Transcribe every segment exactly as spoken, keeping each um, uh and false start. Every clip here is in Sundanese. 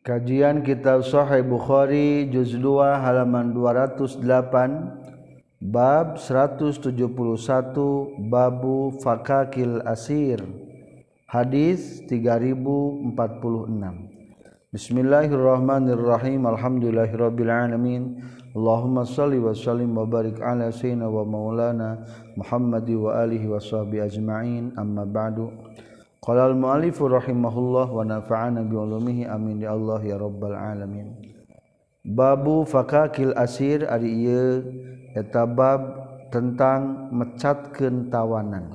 Kajian Kitab Sahih Bukhari juz dua halaman dua ratus delapan bab seratus tujuh puluh satu babu fakakil asir hadis tiga ribu empat puluh enam. Bismillahirrahmanirrahim. Alhamdulillahirabbil alamin. Allahumma shalli wa sallim wa barik ala sayyidina wa maulana Muhammad wa alihi wa sahbihi ajma'in. Amma ba'du. Qala al-mu'allif rahimahullah wa nafa'ana bi ulumihi amin ya Allah ya rabbal alamin. Babu fakakil asir ari ieu eta bab tentang mecatkeun tawanan,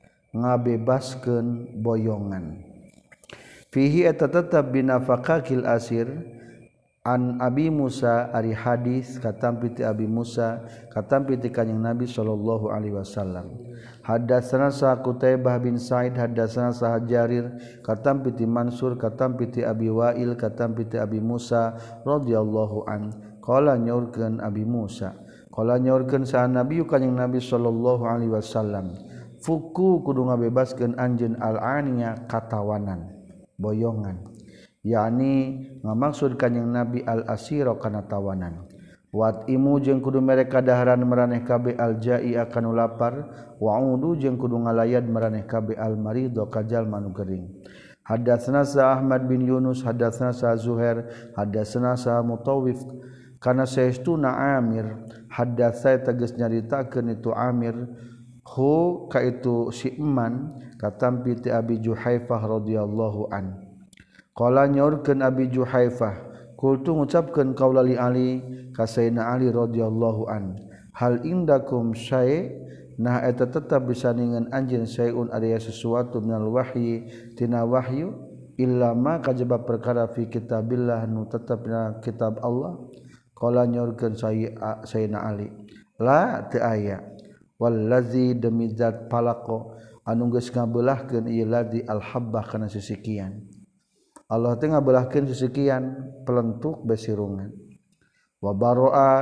ngabebaskeun boyongan. Fihi eta tetep bina fakakil asir an Abi Musa ari hadis katampi ti Abi Musa katampi ti kanjing Nabi sallallahu alaihi wasallam. Hadatsana sa Qutaibah bin Sa'id hadatsana sa Jarir katampi ti Mansur katampi ti Abi Wa'il katampi ti Abi Musa radhiyallahu an qala nyaurkeun Abi Musa qala nyaurkeun sa Nabi kanjing Nabi sallallahu alaihi wasallam fuku kudu ngabebaskeun anjeun al-aniya katawanan boyongan, yakni ngamaksud kanjing Nabi al-asira kana tawanan. Wat imu jeung kudu mereka daharan maraneh kabeh al-jai akan lapar, wa udu jeung kudu ngalayad maraneh kabeh al-maridho ka jalma nu gering. Hadatsana sa Ahmad bin Yunus hadatsana sa Zuhair hadatsana sa Mutawif kana saestuna Amir hadatsai tegas nyaritakeun itu Amir hu ka itu si Eman katampi ti Abi Juhaifah radhiyallahu an. Qala nyaurkeun Abi Juhaifah kultu ngucapkeun qaula li Ali ka Sayyidina Ali radhiyallahu an hal indakum syai' nah eta tetep bisa ningeun anjeun syai'un aya sesuatu minal wahyi tina wahyu illa ma kajaba perkara fi kitabillah nu tetep dina kitab Allah. Qala nyaurkeun Sayyidina Ali la teu aya wallazi demi zat palaqo anu geus ngabeulahkeun ieu ladzi al-habbah kana sisikian. Allah teh ngabelahkeun sisikian pelentuk besirungan. Wa baroa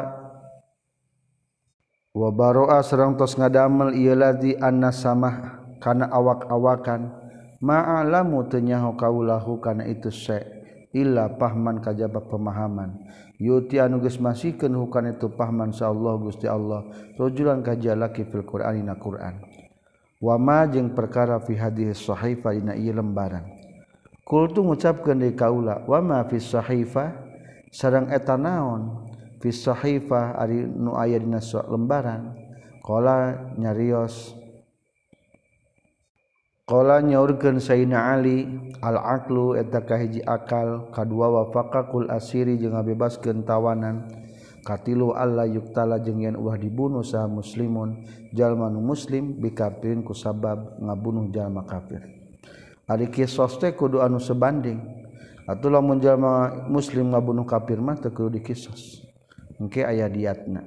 wa baroa sareng tos ngadamel ieu ladzi annasamah kana awak-awakan ma'alamu teu nyaho kaulahu kana itu se illa pahman kajaba pemahaman yuti anu geus masihkeun hukana itu pahman insyaallah Gusti Allah rajulan kajalaki fil Qur'anina Qur'an wa ma jeung perkara fi hadis sahifa dina ieu lembaran. Kultu ngucapkeun deui kaula wa ma fi sahifa sareng eta naon fi sahifa ari nu aya dina lembaran. Qala nyarios qala nyaurkeun Sayyidina Ali al-aqlu eta kahiji akal kadua wa faqakul asiri jeung ngabebaskeun tawanan katilu alla yuktala jeung yen ulah dibunuh saha muslimun jalma nu muslim bikafirin ku sabab ngabunuh jalma kafir. Ari kisos teh kudu anu sebanding. Atuh lamun jalma muslim ngabunuh kafir mah teu kudu dikisos. Engke aya diatna.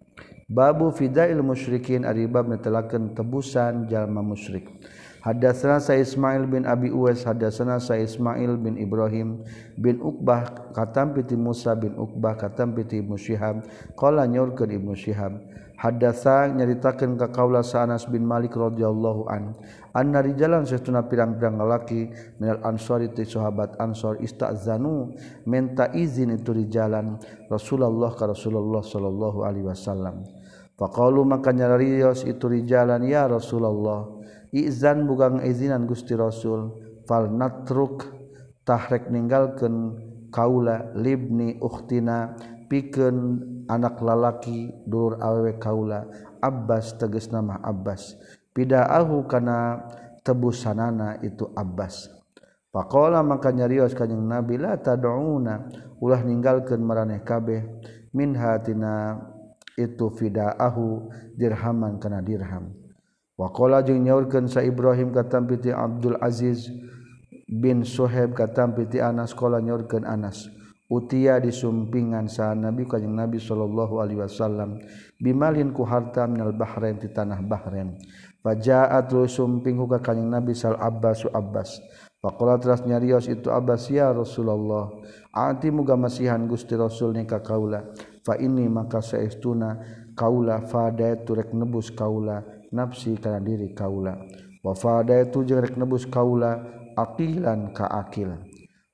Babu fidail musyrikin ari bab netelakeun tebusan jalma musyrik. Hadatsana sa Ismail bin Abi Uwais hadatsana sa Ismail bin Ibrahim bin Uqbah katampi ti Musa bin Uqbah katampi ti Ibnu Syihab qala nyaurkeun Ibnu Syihab hadatsa nyaritakeun ka kaula sa Anas bin Malik radhiyallahu an anna rijalan saestuna pirang-pirang lalaki minal ansori ti sahabat ansor istazanu minta izin itu rijalan Rasulullah ka Rasulullah sallallahu alaihi wasallam faqalu maka nyarios itu rijalan ya Rasulullah izan bugang izinan Gusti Rasul fal natruk tahrek ninggalkeun kaula libni ukhtina pikeun anak lalaki dulur awewe kaula Abbas tegasna mah Abbas pidaahu kana tebusanana itu Abbas. Faqala maka nyarios kanjing Nabi la tad'una ulah ninggalkeun maraneh kabeh minha tina itu fidaahu dirhaman kana dirham. Wa qala jeung nyaurkeun sa Ibrahim katampi ti Abdul Aziz bin Suhaib katampi ti Anas qala nyaurkeun Anas utia disumpingan sa Nabi kanjing Nabi sallallahu alaihi wasallam bimalin ku harta minal Bahrain ti tanah Bahrain fajaat sumping ku kanjing Nabi sal Abbas Abbas faqala teras nyarios itu Abbas ya Rasulullah ati muga masihan Gusti Rasul ni ka kaula fa ini maka saestuna kaula fadaitu rek nebus kaula nafsi kana diri kaula wa fadaitu jeung rek nebus kaula aqilan ka akil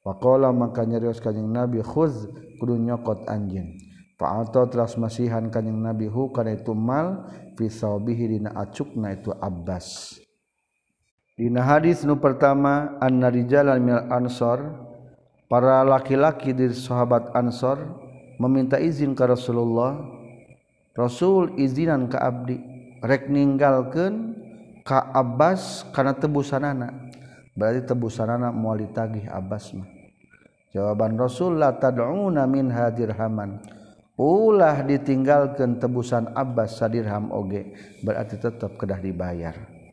Faqala maka nyarios kanjing Nabi khuz kudu nyokot anjeun fa'ata teras masihan kanjing Nabi hu kana itu mal fi saubihi dina acukna itu Abbas. Dina hadis nu pertama anna rijalan minal ansor para laki-laki dari sahabat Ansor meminta izin ke Rasulullah Rasul izinan ka abdi rek ninggalkeun ka Abbas kana tebusanana berarti tebusanana moal ditagih Abbas mah. Jawaban Rasul la tad'una minha dirhaman ulah ditinggalkeun tebusan Abbas sadirham oge berarti tetap kedah dibayar.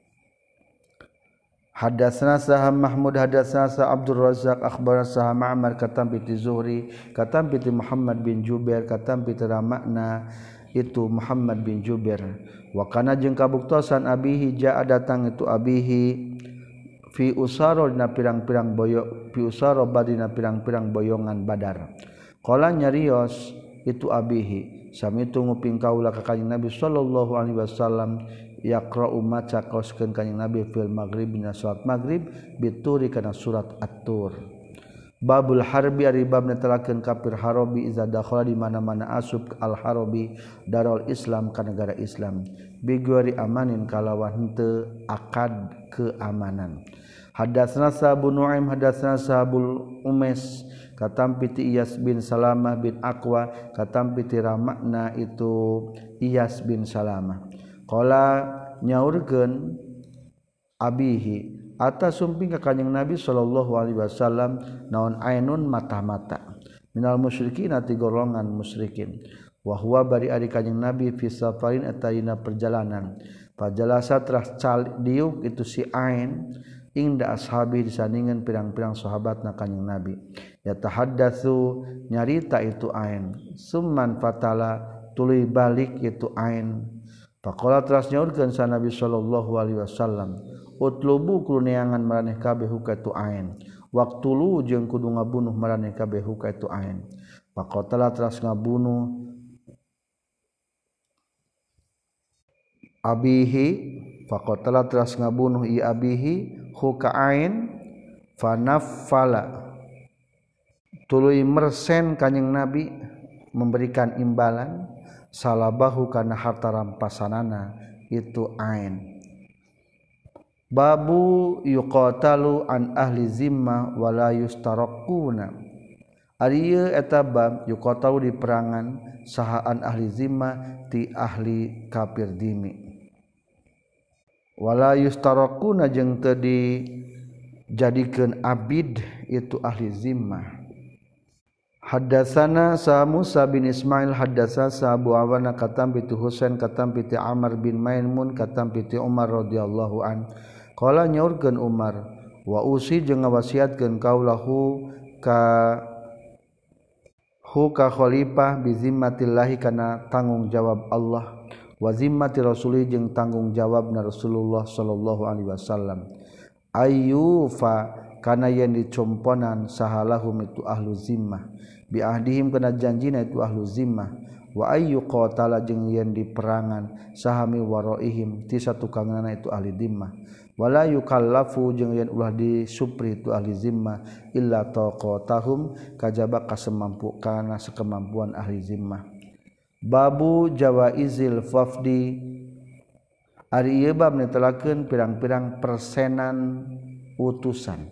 Hadatsana Saham Mahmud hadatsana Sa Abdul Razzaq akhbarana Saham Ma'mar katam bi Zuhri katam bi Muhammad bin Jubair katam bi Ramakna itu Muhammad bin Jubair wa kana jeung kabuktosan abihi jaa datang itu abihi fi usara dina pirang-pirang boyo fi usara badina pirang-pirang boyongan Badar. Qala nyarios itu abihi sami tu nguping kaula ka kanjing Nabi sallallahu alaihi wasallam yaqra'u maca kaoskeun kanjing Nabi fil maghrib dina salat maghrib bituri kana surat at-tur. Babul harbi ari bab netelakeun kafir harabi iza dakhala di mana-mana asub al harabi darul Islam ka negara Islam bigori amanin kalawan henteu akad keamanan. Hadatsana Abu Nuaim hadatsana Sabul Umes katam piti Iyas bin Salamah bin Aqwa katam piti Ramakna itu Iyas bin Salamah. Qala nyaurkeun abihi atas sumping ka kanjing Nabi sallallahu alaihi wasallam naon ainun mata-mata minal musyrikin ati golongan musyrikin wa huwa bari ari kanjing Nabi fi safarin eta dina perjalanan pajalasa teras diuk itu si ain ingda ashabi disandingan pirang-pirang sahabatna kanjing Nabi yatahaddatsu nyarita itu ain summan fatala tuluy balik itu ain faqala teras nyaurkeun sa Nabi sallallahu alaihi wasallam utlubu kudu neangan maraneh kabeh huka itu ain waqtulu jeung kudu ngabunuh maraneh kabeh huka itu ain faqatala teras ngabunuh abihi faqatala teras ngabunuh i abihi huka ain fanaffala tuluy mersen kanjing Nabi memberikan imbalan salabahu kana harta rampasanana itu ain. Babu yuqatalu an ahli zimma wala yustaraquna ari ieu eta bab yuqatalu di perangan sahaan ahli zimma ti ahli kafir dimi wala yustaraquna jeung teu dijadikeun abid itu ahli zimmah. Hadatsana Sa Musa bin Ismail hadatsana Sa Abu Awana katam bi Husain katam bi Amr bin Maimun katam bi Umar radhiyallahu an qala nyaurkeun Umar wa usi jeung ngawasiatkeun kaulahu ka hu ka khalifah bi zimmatillahi kana tanggung jawab Allah wa zimmati rasuli jeung tanggung jawabna Rasulullah sallallahu alaihi wasallam ayyufa kana yen dicomponan sahalahum itu ahlu zimmah bi ahdihim kana janjina itu ahlu zimmah wa ayyu qatala jeung yen diperangan sahami waraihim ti satukangna itu ahli zimmah wala yukallafu jeung yen ulah disupri itu ahli zimmah illa taqatahum kajaba kasemampu kana sakemampuan ahli zimmah. Babu jawaizil fafdi ari ieu bab netelakeun pirang-pirang persenan utusan.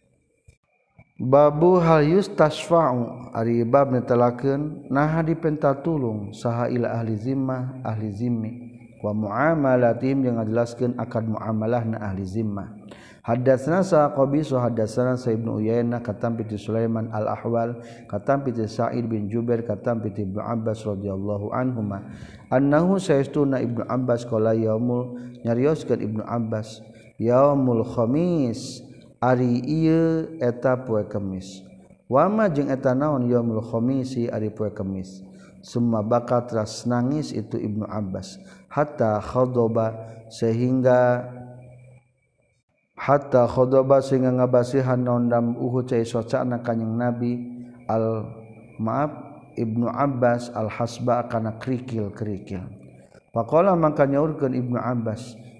Babu hal yustasfa'u ari bab netelakeun naha dipenta tulung saha ila ahli zimmah ahli zimmi wa muamalatihim yang ngajelaskeun akad muamalahna ahli zimmah. Hadatsana sa Qabisu hadatsana Sa Ibnu Uyainah katam bi Sulaiman al-Ahwal katam bi Sa'id bin Jubair katam bi Ibnu Abbas radhiyallahu anhuma annahu saestuna Ibnu Abbas qala yaumul nyarioskeun Ibnu Abbas yaumul khamis ari ieu eta poe Kemis wama jeung eta naon yaumul khamisi ari poe Kemis summa baka teras nangis itu Ibnu Abbas hatta khadaba sehingga hatta khadaba sehingga ngabasihan naon dam uhu cai socana kanjing Nabi al maaf Ibnu Abbas al hasba kana krikil-krikil faqala maka nyaurkeun Ibnu Abbas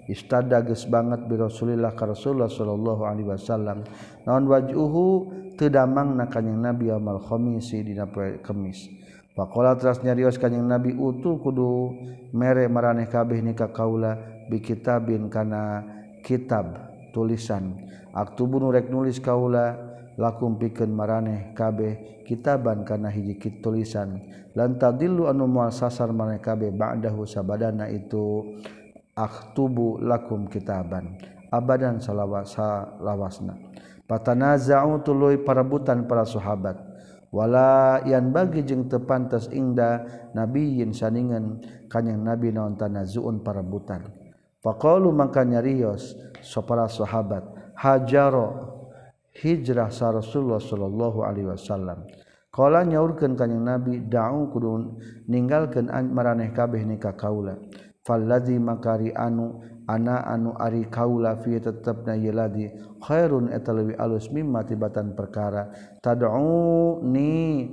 istada geus banget bi Rasulillah ka Rasulullah sallallahu alaihi wasallam naon wajhuhu teu damangna kanjing Nabi yaumul khamisi dina poe Kemis. Faqala teras nyarios kanjing Nabi utu kudu mere maraneh kabeh ni ka kaula bi kitabin kana kitab tulisan aktubu nu rek nulis kaula lakum pikeun maraneh kabeh kitaban kana hiji tulisan lan tadillu anu moal sasar maraneh kabeh ba'dahu sabadana itu aktubu lakum kitaban abadan salawasa lawasna patanaza'u tuluy parabutan para sahabat wala yan bagi jeung teu pantes ingda nabiyyin saningan kanjing nabi naon tanazuun parabutan faqalu maka nyarios para sahabat hajaro hijrah sa Rasulullah sallallahu alaihi wasallam qala nyaurkeun kanjing nabi da'u kudu ninggalkeun maraneh kabeh ni ka kaula falladzi makari anu ana anu ari kaula fi tetepna yeladi khairun eta leuwih alus mimma tibatan perkara tad'u ni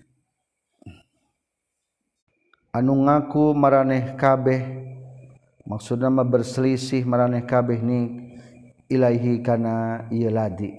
anu ngaku maraneh kabeh maksudna mah berselisih maraneh kabeh ni ilaihi kana yeladi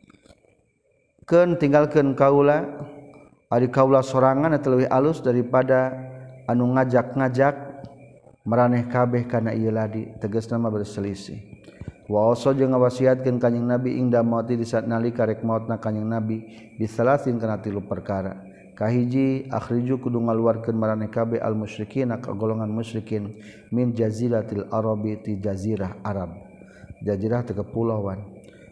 keun tinggalkeun kaula ari kaula sorangan eta leuwih alus daripada anu ngajak-ngajak maraneh kabeh kana ieu ladi tegasna mah berselisih wa oso jeung ngawasiatkeun kanjing nabi ingda mauti di saat nalika rek mautna kanjing nabi bisalasin kana tilu perkara kahiji akhriju kudu ngaluarkeun maraneh kabeh al musyrikin ka golongan musyrikin min jaziratil arabi ti jazirah arab jazirah teh kepulauan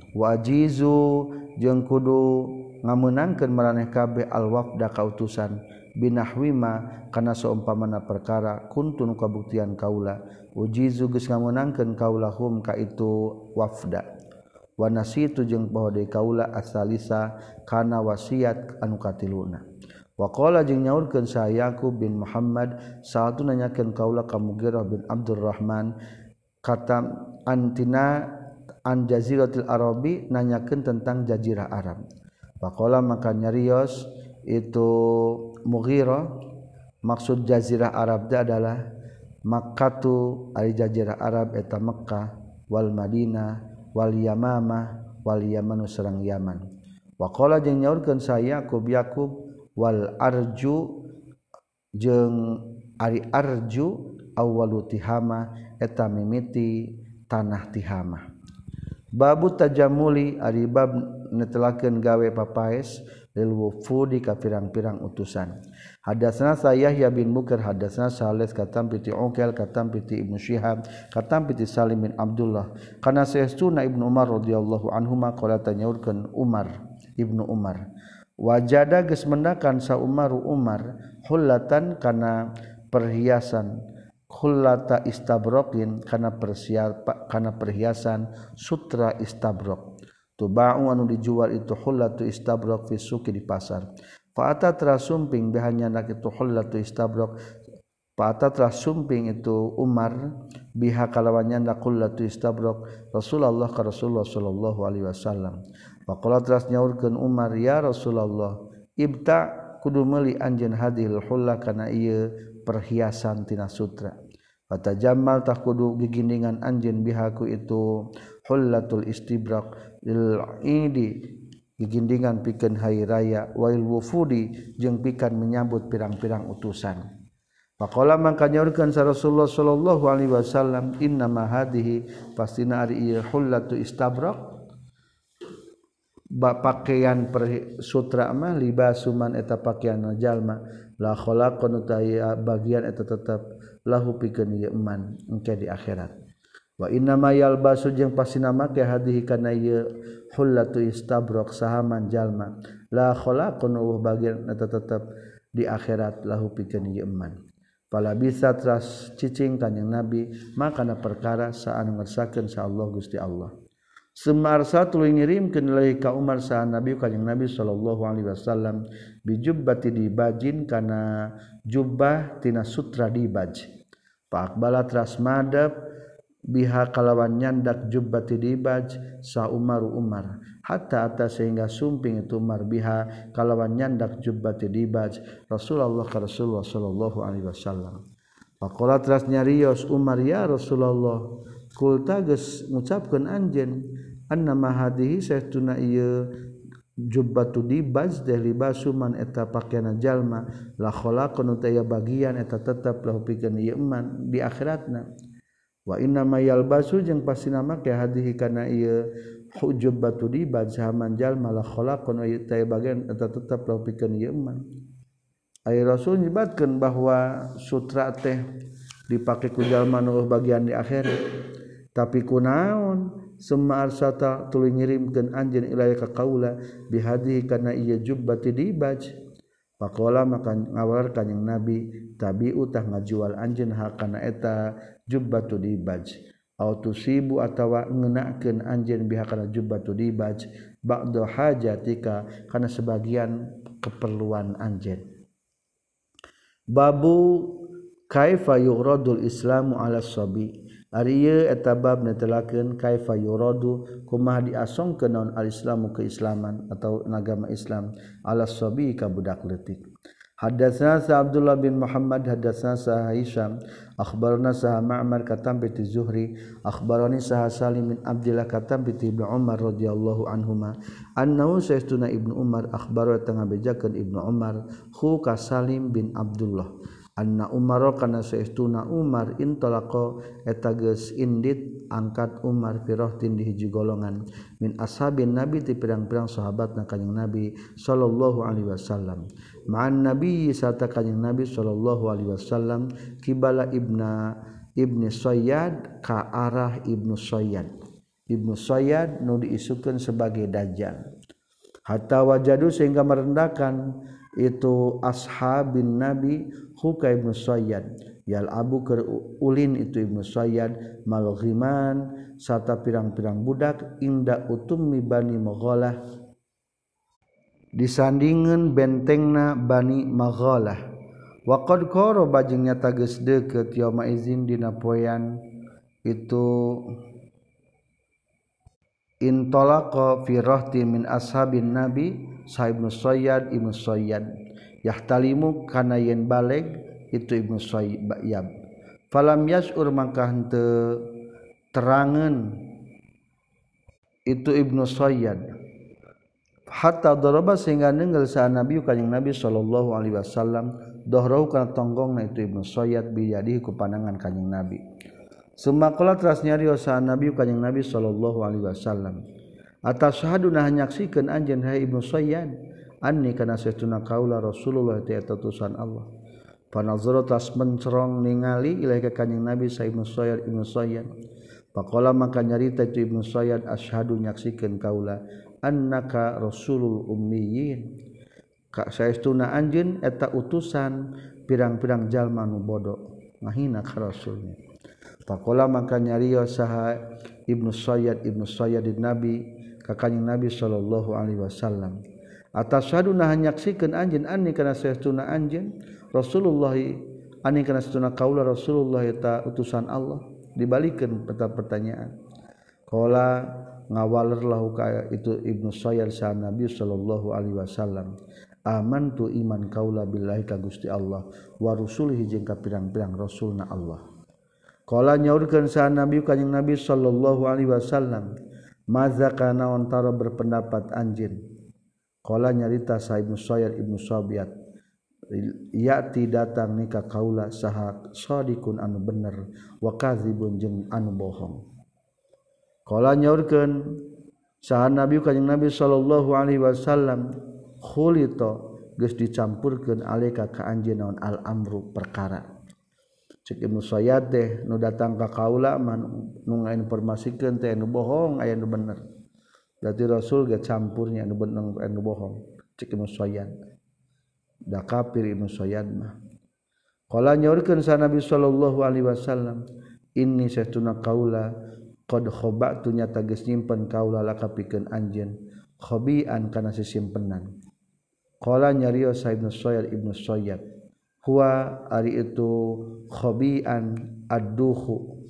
wajizu jeung kudu ngameunangkeun maraneh kabeh al wafda ka utusan binahwima kana saumpamana perkara kuntun kabuktian kaula ujizu geus ngameunangkeun kaula hum ka itu wafda wa nasitu jeung bahwa deui kaula asalisa kana wasiat anu katiluna wa qala jeung nyaurkeun sa Yaqub bin Muhammad saatu nanyakeun kaula ka Mughirah bin Abdurrahman kata antina an jaziratil arabi nanyakeun tentang jazirah Arab faqala maka nyarios itu Mughirah maksud jazirah Arab da adalah Makkatu ari jazirah Arab eta Mekkah wal Madinah wal Yamamah wal Yaman sareng Yaman wa qala jeung nyaurkeun sa Yaqub Yaqub wal arju jeung ari arju awwalu tihama eta mimiti tanah tihama babu tajamuli ari bab netelakeun gawe papaes lil wufudi ka pirang-pirang utusan hadatsana Yahya bin Bukar hadatsana Salih katam piti Uqail katam piti Ibnu Syihab katam piti Salim bin Abdullah kana saestuna Ibnu Umar radhiyallahu anhuma qala tanyaurkeun Umar Ibnu Umar wajada geus mendakan sa Umar Umar hullatan kana perhiasan hullata istabraqin kana persiapan kana perhiasan sutra istabraq tuba'u anu dijual itu hullatu istabraq fi suqi di pasar fa ata trasumping bahanya nak itu hullatu istabraq fa ata trasumping itu Umar biha kalawannya nak hullatu istabraq Rasulullah ka Rasulullah sallallahu alaihi wasallam fa qala tras nyaurkeun Umar ya Rasulullah ibta kudu meuli anjeun hadhil hulla kana ieu perhiasan tina sutra fatajammal tah kudu gigindingan anjeun biha ku itu hullatul istibraq lil idi gigindingan pikeun hari raya wail wufudi jeung pikan menyambut pirang-pirang utusan faqala mangka nyaurkeun sa Rasulullah sallallahu alaihi wasallam inna ma hadhihi pastina ari ieu hullatu istabraq ba pakaian per sutra mah libasuman eta pakaian jalma la khalaqun taya bagian eta tetep lahu pikeun ieu eman engke di akhirat wa inna ma yalbasu jeung pasina make hadhihi kana ieu hullatu istabraq sahaman jalma la khalaqun uh bagian eta tetep di akhirat lahu pikeun ieu eman fala bisa tras cicing kanjing nabi makana perkara saanu ngersakeun sa Allah Gusti Allah summa arsatul ngirimkeun ilahi ka Umar sa nabi kanjing nabi sallallahu alaihi wasallam bijubbati dibajin kana jubbah tina sutra dibaj fa aqbala tras madab biha kalawan nyandak jubbati dibaj sa Umar Umar hatta atas sehingga sumping itu Umar biha kalawan nyandak jubbati dibaj Rasulullah ka Rasulullah sallallahu alaihi wasallam faqala tras nyarios Umar ya Rasulullah kulta geus ngucapkeun anjeun anna ma hadhihi saestuna ieu jubbatu dibaj teh libasu man eta pakaian jalma la khalaqun taya bagian eta tetep lahu pikeun ieu man di akhiratna wa inna ma yalbasu jeung pastina make hadhihi kana ieu jubbatu dibaj zaman jalma la khalaqun taya bagian eta tetep lahu pikeun ieu man ai rasul nyebatkeun bahwa sutra teh dipake ku jalma nu bagian di akhirat tapi kunaon summa arsata tuluy ngirimkeun anjeun ilaya ka kaula bihadhihi kana ieu jubbati dibaj faqala maka ngawar kanjing nabi tabi'u tah ngajual anjeun hal kana eta jubbatu dibaj au tusibu atawa ngeunakeun anjeun biha kana jubbatu dibaj ba'da hajatika kana sebagian keperluan anjeun babu kaifa yuradul islamu ala sabi ari ieu eta bab netelakeun kaifa yuradu kumaha diasongkeun naon al-islamu keislaman atau agama Islam ala sabi ka budak leutik. Hadatsana sa Abdullah bin Muhammad hadatsana sa Hisham akhbarana sa Ma'mar katam bi Zuhri akhbarani sa Salim bin Abdullah katam bi Ibnu Umar radhiyallahu anhuma annahu sayyiduna Ibnu Umar akhbara tengah bejakeun Ibnu Umar hu ka Salim bin Abdullah anna Umar kana saestuna Umar intalaqa eta geus indit angkat Umar firahtin di hiji golongan min ashabin nabi ti pirang-pirang sahabatna kanjing Nabi sallallahu alaihi wasallam ma'an nabi sarta kanjing Nabi sallallahu alaihi wasallam kibala ibna ibni Sayyad ka arah Ibnu Sayyad Ibnu Sayyad nu diisukeun sebagai dajjal hatta wajadu sehingga merendahkan itu ashabin nabi huka Ibnu Sayyad yal abu keur ulin itu Ibnu Sayyad malghiman sarta pirang-pirang budak inda utummi Bani Maghalah disandingeun bentengna Bani Maghalah wa qad qaraba jeung nyata geus deukeut yauma izin dina poean itu intalaqa fi rahti min ashabin nabi sahibnu Sayyad Ibnu Sayyad yahtalimu kana yen baleg itu Ibnu Sayyad falam yas'ur mangka henteu terangeun itu Ibnu Sayyad hatta daraba sehingga neungeul sa Nabi kanjing Nabi sallallahu alaihi wasallam dohrahu kana tonggongna itu Ibnu Sayyad bi yadihi ku pandangan kanjing Nabi summa qala teras nyarios sa Nabi kanjing Nabi sallallahu alaihi wasallam atashhaduna nyaksikeun anjeun hai Ibnu Sayyad anni kana saestuna kaula Rasulullah ti eta utusan Allah panazara tas mencerong ningali ilaika kanjing Nabi sa Ibnu Sayyad Ibnu Sayyad faqala maka nyarita itu Ibnu Sayyad asyhadu nyaksikeun kaula annaka rasulul ummiyin ka saestuna anjeun eta utusan pirang-pirang jalma nu bodo ngahina ka rasulnya faqala maka nyarios saha Ibnu Sayyad Ibnu Sayyad Nabi ka kanjing Nabi sallallahu alaihi wasallam atasyaduna nyaksikeun anjeun anni kana saestuna anjeun Rasulullah anni kana saestuna kaula Rasulullah eta utusan Allah dibalikeun peta pertanyaan qala ngawaler lahu ka itu Ibnu Sayyad sa Nabi sallallahu alaihi wasallam amantu iman kaula billahi ka Gusti Allah wa rusulihi jeung ka pirang-pirang rasulna Allah qala nyaurkeun sa Nabi kanjing Nabi sallallahu alaihi wasallam maza kana ontara berpendapat anjeun qala nyarita sa Ibnu Sayyad Ibnu Sayyad yati datang nika kaula saha shadiqun anu bener wa kadzibun jeung anu bohong qala nyaurkeun saha Nabi kanjing Nabi sallallahu alaihi wasallam khulito geus dicampurkeun alika ka anjeun naon al amru perkara cek Ibnu Sayyad teh nu datang ka kaula man nu ngainformasikeun teh nu bohong aya nu bener berarti Rasul ge campurnya nu bener anu bohong cek Ibnu Sayyad da kafir Ibnu Sayyad mah qala nyaurkeun sa Nabi sallallahu alaihi wasallam inni saestuna kaula qad khaba'tu nyata geus nyimpen kaula laka pikeun anjeun khabi'an kana sisimpenan qala nyarios sa Ibnu Sayyad Ibnu Sayyad huwa ari itu khabi'an ad-duhu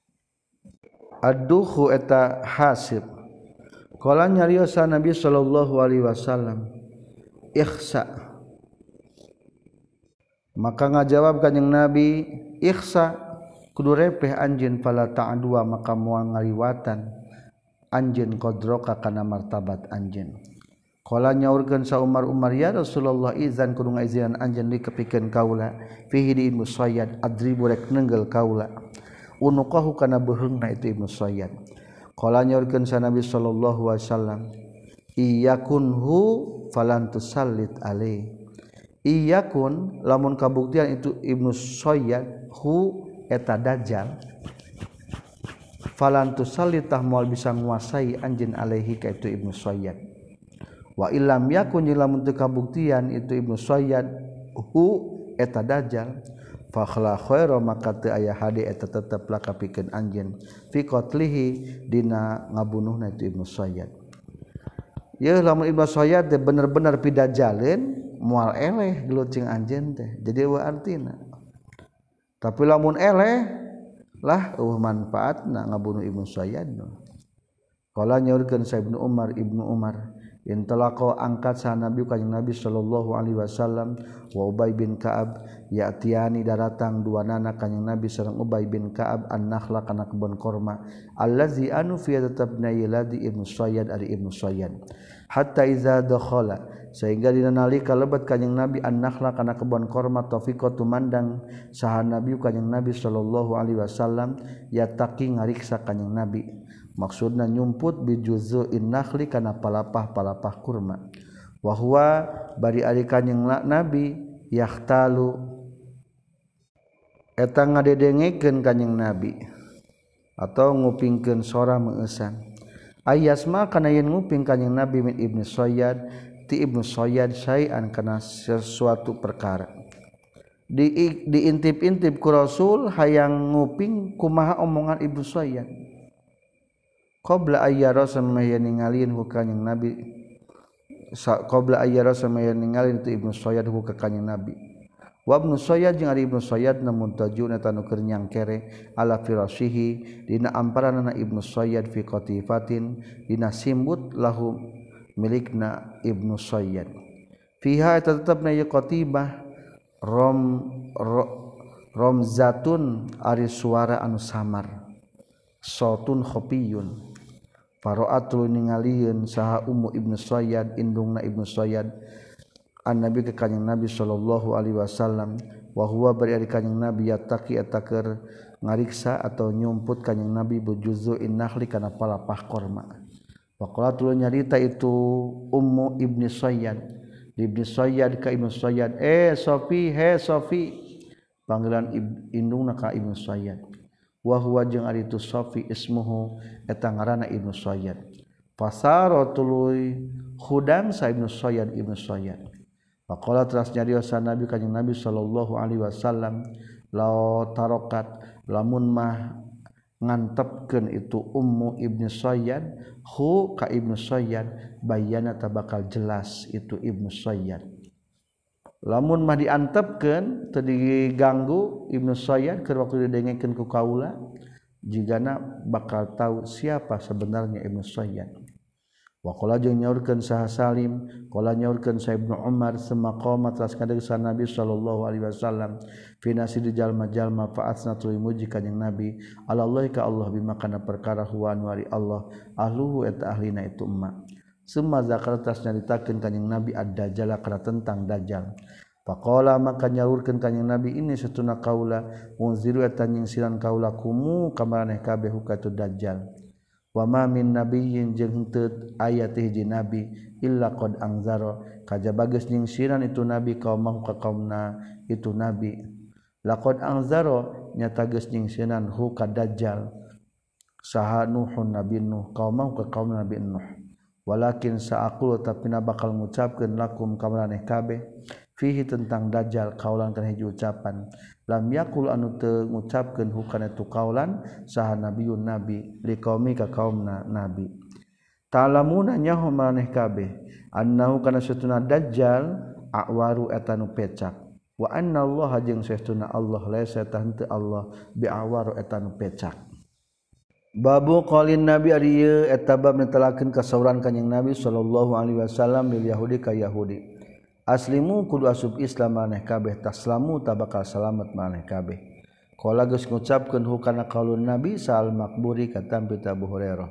ad-duhu eta hasib qala nyarios sa Nabi sallallahu alaihi wasallam ikhsa maka ngajawab kanjing Nabi ikhsa kudu repeh anjeun fala ta'dua maka moal ngaliwatan anjeun qadroka kana martabat anjeun. Qala nyaurkeun sa Umar Umar ya Rasulullah izan kudu ngaizinan anjeun dikepikeun kaula fihi di Ibnu Sayyad adribu rek nenggel kaula unuqahu kana beuheungna itu Ibnu Sayyad. Qala nyaurkeun sa Nabi sallallahu alaihi wasallam iyakunhu falan tusallit alaihi. Iyakun lamun kabuktian itu Ibnu Sayyad hu eta dajjal falan tusallit tah moal bisa nguasai anjeun alaihi ka itu Ibnu Sayyad. Wa illam yakun lamun teu kabuktian itu Ibnu Sayyad hu eta dajjal fa khala khairu maka teu aya hade eta tetep lakapikeun anjeun fi qatlihi dina ngabunuhna itu Ibnu Sayyad. Ya lamun Ibnu Sayyad teh bener-bener pidajaleun moal eleh gelut cing anjeun teh jadi wa artina. Tapi lamun eleh lah eueuh manfaatna ngabunuh Ibnu Sayyad. Qala nyaurkeun sa Ibnu Umar Ibnu Umar intalaqa angkat sa Nabi kanjing Nabi sallallahu alaihi wasallam wa Ubay bin Ka'ab ya'tiani daratang dua nana kanjing Nabi sareng Ubay bin Ka'ab an-nakhla kana kebon korma allazi anu fi tetepna yaladi Ibnu Sayyad ari Ibnu Sayyad hatta iza dakhala sehingga dina nalika lebat kanjing Nabi an-nakhla kana kebon korma tafiqa tumandang saha Nabi kanjing Nabi sallallahu alaihi wasallam yataqi ngariksa kanjing Nabi maksudna nyumput bi juzu'in nakhli kana palapah-palapah kurma wa huwa bari ari kanjing Nabi yahtalu eta ngadedengekeun kanjing Nabi atau ngupingkeun sora meusan ayasma kana yen nguping kanjing Nabi min Ibnu Sayyad ti Ibnu Sayyad syai'an kana sesuatu perkara di diintip-intip ku Rasul hayang nguping kumaha omongan Ibnu Sayyad qabla ayyara samaya ningalin ku kanjing Nabi qabla ayyara samaya ningalin tu Ibnu Sayyad ku ka kanjing Nabi wa Ibnu Sayyad jeung ari Ibnu Sayyad namun tajuna tanu keur nyangkere ala firashihi dina amparanna Ibnu Sayyad fi qatifatin dina simbut lahu milikna Ibnu Sayyad fiha tetepna ieu qatibah rom ro, romzatun ari suara anu samar sautun khafiyun Faro'atul ningalieun saha ummu Ibnu Sayyad indungna Ibnu Sayyad an Nabi ke kanjing Nabi sallallahu alaihi wasallam wa huwa bari ari kanjing Nabi yataqi eta keur ngariksa atau nyumput kanjing Nabi bujuzu'in nakhli kana palapah korma. Wa qalatul nyarita itu ummu Ibnu Sayyad Ibnu Sayyad ka Ibnu Sayyad eh Sofi he Sofi panggilan indungna ka Ibnu Sayyad wa huwa jeung ari tu Safi ismuhu eta ngaranna Ibnu Sayyad fasaratul khudam sa Ibnu Sayyad Ibnu Sayyad faqala teras nyariosa Nabi kanjing Nabi sallallahu alaihi wasallam la tarokat lamun mah ngantepkeun itu ummu Ibnu Sayyad hu ka Ibnu Sayyad bayana tabakal jelas itu Ibnu Sayyad lamun mah diantepkeun teu diganggu Ibnu Sayyad keur waktu didengekeun ku kaula jigana bakal tahu siapa sebenarnya Ibnu Sayyad. Wa qala jeung nyaurkeun saha Salim qala nyaurkeun sa Ibnu Umar semaqama teras kadegsan Nabi sallallahu alaihi wasallam fi nasidi jalma-jalma fa asnatul muji kanjing Nabi Allah ka Allah bima kana perkara huwa anwari Allah ahluhu eta ahlina itu umma summa zakar tas nyaritakeun kanjing Nabi ad-dajjal kana tentang dajjal faqala maka nyaurkeun kanjing Nabi ini satuna kaula unziru eta nyingsiran kaula kumu kamaneh kabeh hukatu dajjal wa ma min nabiyyin jeung teu aya teh hiji nabi illa qad anzara kajaba geus nyingsiran itu nabi kaum ka kaumna itu nabi laqad anzara nyata geus nyingsiran hu ka dajjal saha nuhun nabi nuh kaum ka kaum nabi nuh walakin saaqulu tapi na bakal ngucapkeun lakum ka maneh kabeh fihi tentang dajjal kaulan kana hiji ucapan lam yaqul anu teu ngucapkeun hukana tu kaulan saha nabiun nabi liqaumi ka kaumna nabi ta'lamuna nyaho maneh kabeh annahu kana satuna dajjal awaru eta nu pecak wa anna Allah jeung satuna Allah laisa tante Allah bi awaru eta nu pecak. Babu qaulin nabi ari ieu eta bab netelakeun kasauran kanjing Nabi sallallahu alaihi wasallam lil yahudi ka yahudi aslimu kudu asup Islam maneh kabeh taslamu tabakal salamet maneh kabeh qala geus ngucapkeun hukana qaulun nabi sal makburi katam pita Abu Hurairah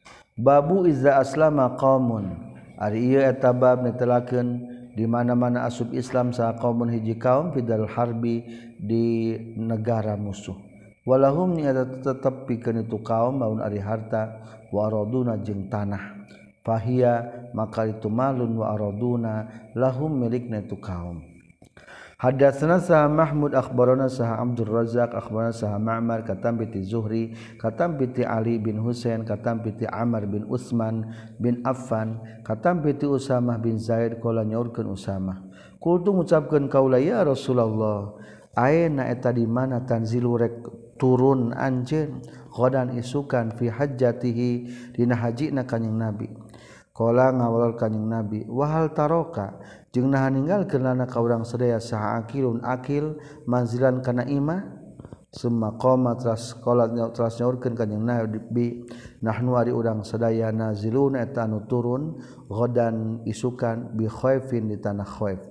babu izza aslama qaumun ari ieu eta bab netelakeun di mana-mana asup Islam saha qaumun hiji kaum fidal harbi di negara musuh walahum nya tetep pikeun itu kaum maun ari harta wa araduna jeung tanah fahiya maka itu malun wa araduna lahum milikna itu kaum. Hadatsana sa Mahmud akhbarana sa Abdul Razzaq akhbarana sa Ma'mar katam bi Zuhri katam bi Ali bin Husain katam bi Amr bin Utsman bin Affan katam bi Usamah bin Zaid qala nyaurkeun Usamah kultu ngucapkeun kaula ya Rasulullah ayeuna eta di mana tanzilu rek turun anjeun ghadan isukan fi hajjatihi dina hajina kanjing Nabi qala ngawal kanjing Nabi wahal taroka jeung nahan ninggalkeun lana ka urang sadaya saha akilun akil manzilan kana imah summa qama tras qala tras nyaurkeun kanjing Nabi nahnu ari urang sadaya nazilun eta anu turun ghadan isukan bi khaifin di tanah khaif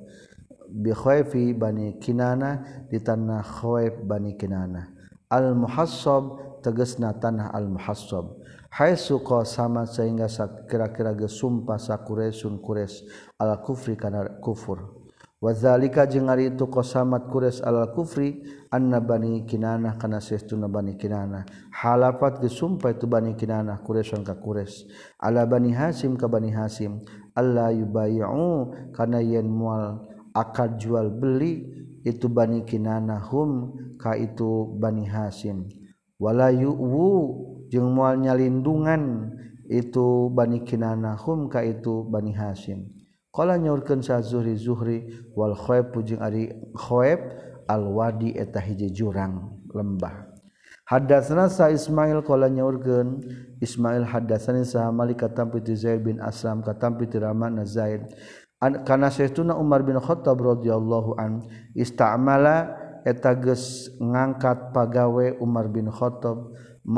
bi khaifi bani kinana di tanah khaif bani kinana al muhassab tegasna tanah al muhassab haitsu qasama sehingga kira-kira geus sumpah sakuresun kures al kufri kana kufur wazalika jeung ari itu qasamat kures al kufri anna bani kinanah kana saestuna bani kinanah halafat geus sumpah itu bani kinanah kuresan ka kures ala bani hasim ka bani hasim alla yubayyu kana yen moal akad jual beli itu bani kinanah hum ka itu bani hasim wala yu'wu jeung moal nyalindungan itu bani kinanah hum ka itu bani hasim qala nyaurkeun sa Zuhri Zuhri wal khaib jeung ari khaib al wadi eta hiji jurang lembah hadatsana sa Ismail qala nyaurkeun Ismail hadatsani sa Malik katam piti Zaid bin Aslam katam piti Rahman Zaid kana saestuna Umar bin Khattab radhiyallahu an istamala eta geus ngangkat pagawe Umar bin Khattab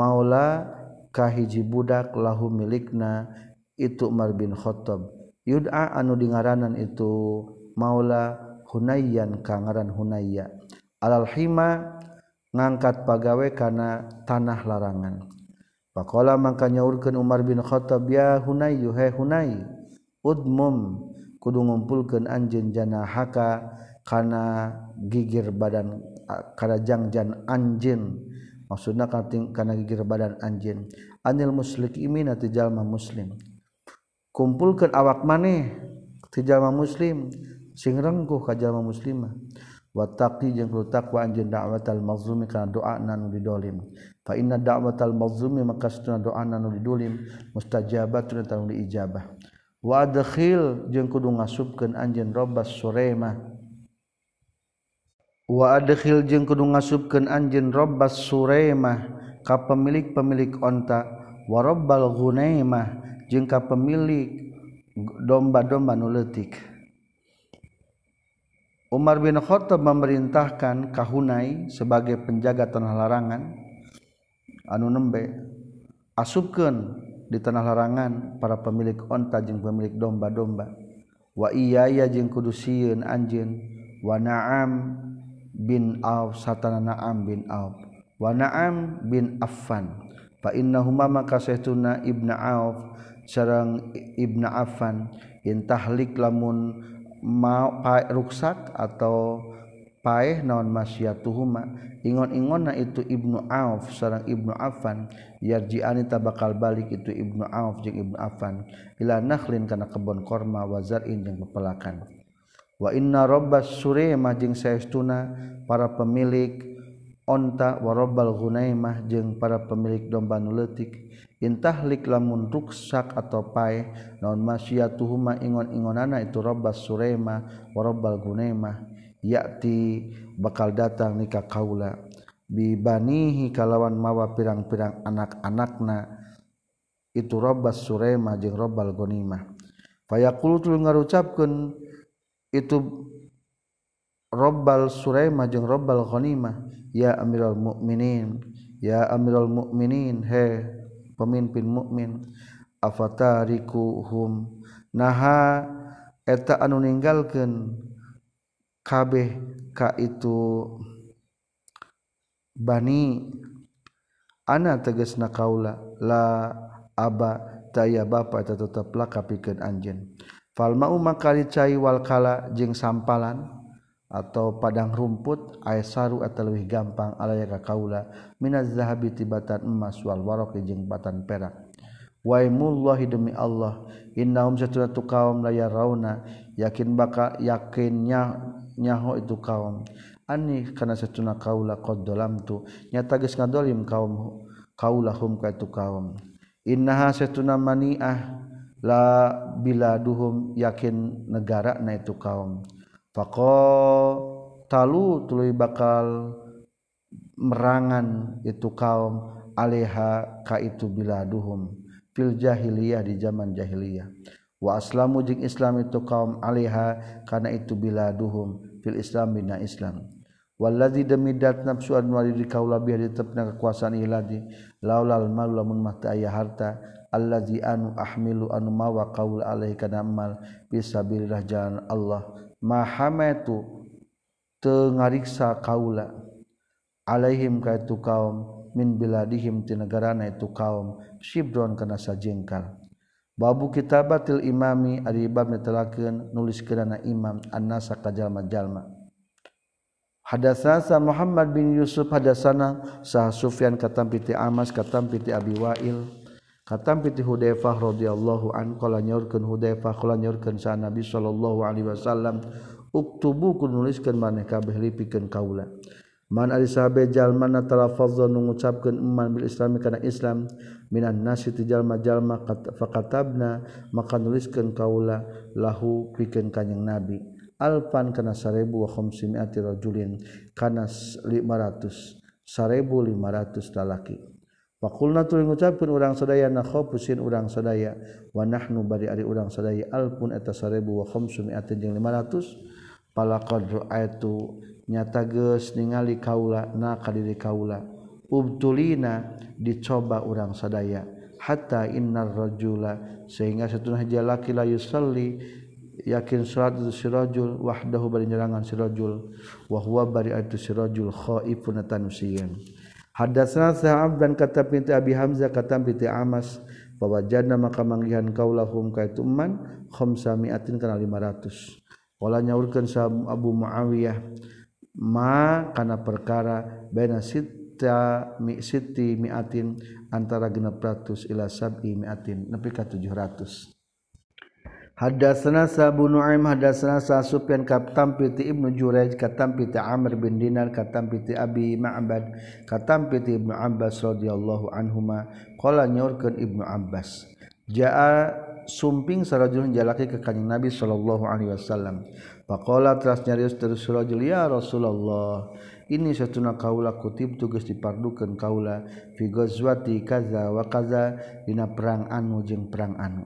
maula kahiji budak lahu milikna itu Umar bin Khattab yud'a anu dingaranan itu maula Hunayyan ka ngaran Hunayya alal hima ngangkat pagawe kana tanah larangan faqala mangka nyaurkeun Umar bin Khattab ya Hunayyu he Hunay udmum kudu ngumpulkeun anjeun janahaka kana gigir badan kana jangjan anjeun maksudna kana gigir badan anjeun anil muslimin ti jalma muslim kumpulkeun awak maneh ti jalma muslim sing rengkuh ka jalma muslimah wattaqi jeung kudu takwa anjeun da'watal mazlumi kana doa anu didolim fa inna da'watal mazlumi maka satuna doa anu didolim mustajabatun tanu diijabah wa adkhil jeung kudu ngasupkeun anjeun rabbas suraimah wa adkhil jeung kudu ngasupkeun anjeun rabbas suraimah ka pemilik-pemilik onta wa rabbal ghunaimah jeung ka pemilik domba-domba nu leutik Umar bin Khattab memerintahkan ka Hunay sebagai penjaga tanah larangan anu nembe asupkeun di tanah larangan para pemilik onta jeung pemilik domba-domba wa iyaya jeung kudu sieun anjeun wa na'am bin Auf satana Na'am bin Auf wa Na'am bin Affan fa innahuma maka saestuna Ibnu Auf sareng Ibnu Affan intahlik lamun ma ruksak atau paeh naon masyatuhuma ingon-ingonna itu Ibnu Auf sareng Ibnu Affan yarji'ani tabakal balik itu Ibnu Auf jeung Ibnu Affan ila nakhlin kana kebon korma wa zar'in jeung pepelakan wa inna rabbas suraimah jeung saestuna para pemilik onta wa rabbal ghunaimah jeung para pemilik domba nu leutik intahlik lamun ruksak atau paeh naon masyatuhuma ingon-ingonana itu rabbas suraimah wa rabbal ghunaimah ya'ti bakal datang nikah kaula bi banihi kalawan mawa pirang-pirang anak-anakna itu rabbas suraimah jeung rabbal ghunaimah fayaqulu tu ngarucapkeun itu rabbal suraimah jeung rabbal ghunaimah ya amiral mukminin ya amiral mukminin he pemimpin mukmin afatarikuhum naha eta anu ninggalkeun kabeh ka itu bani ana tegasna kaula la aba taya bapa eta tetep laka pikeun anjeun fal mau makali cai wal kala jeung sampalan atau padang rumput aisaru eta leuwih gampang alaya ka kaula minaz zahabi tibatan emas wal waraqi jeung batan perak wa imullahi demi Allah innahum satunatu kaum la yarawna yakin bakal yakinnya nyaho itu kaum ani kana satuna kaula qad dalamtu nyata geus ngadolim kaum kaulahum ka itu kaum innaha satuna maniah la biladuhum yakin negara na itu kaum faqo talu tuluy bakal merangan itu kaum aleha ka itu biladuhum fil jahiliyah di zaman jahiliyah wa aslamu jeung Islam itu kaum alaiha kana itu biladuhum fil Islam bina Islam wallazi damidat nafsu anwari di kaula biha ditepna kekuasaan iladi laulal mal lamun mah aya harta allazi anu ahmilu anu mawa qaul alaihi kana mal fisabilillah jalan Allah mahamatu teu ngariksa kaula alaihim ka itu kaum min biladihim ti negarana itu kaum shibron kana sajengkal babu kitabatil imami ari bab netelakeun nuliskeunana imam annasa ka jalma-jalma hadatsana Muhammad bin Yusuf hadatsana sah Sufyan katam piti Amas katam piti Abi Wa'il katam piti Hudzaifah radhiyallahu an qala nyaurkeun Hudzaifah qala nyaurkeun sa Nabi sallallahu alaihi wasallam uktubu kun nuliskeun maneh kabeh lipikeun kaula man ari sahabe jalma talafazza nu ngucapkeun iman bil islami kana Islam minan nasi ti jalma-jalma fakatabna maka nuliskeun kaula lahu pikeun kanjing Nabi alfan kana seribu wa khamsimiati rajulin kana lima ratus seribu lima ratus lalaki faqulna tu ngucapkeun urang sadaya nakhapusin urang sadaya wa nahnu bari ari urang sadaya alfun eta seribu wa khamsimiati jeung lima ratus palaqad ra'aitu nyata geus ningali kaula na ka diri kaula ubtulina dicoba urang sadaya hatta innar rajula sehingga satuna jalaki la yusalli yakin salat itu si rajul wahdahu bari nyerangan si rajul wa huwa bari itu si rajul khaifun tansiyan hadatsana sa'ab dan kata binti Abi Hamzah kata binti Amas bahwa jana maka manggihan kaulahum ka itu man khamsamiatin kana lima ratus wala nyaurkeun sa Abu Muawiyah ma kana perkara baina sita mi siti miatin antara genep ratus ila sab'i miatin nepi ka tujuh ratus hadatsana Abu Nuaim hadatsana Sufyan katam piti Ibnu Jurayj katam piti Amr bin Dinar katam piti Abi Ma'bad katam piti Ibnu Abbas radhiyallahu anhuma qala nyaurkeun Ibnu Abbas jaa sumping sarajulun jalaki ke kanjing Nabi sallallahu alaihi wasallam faqala teras nyarios terus rajul ya Rasulullah ini satuna kaula kutib tugas dipardukeun kaula fi ghazwati kaza wa kaza dina perang anu jeung perang anu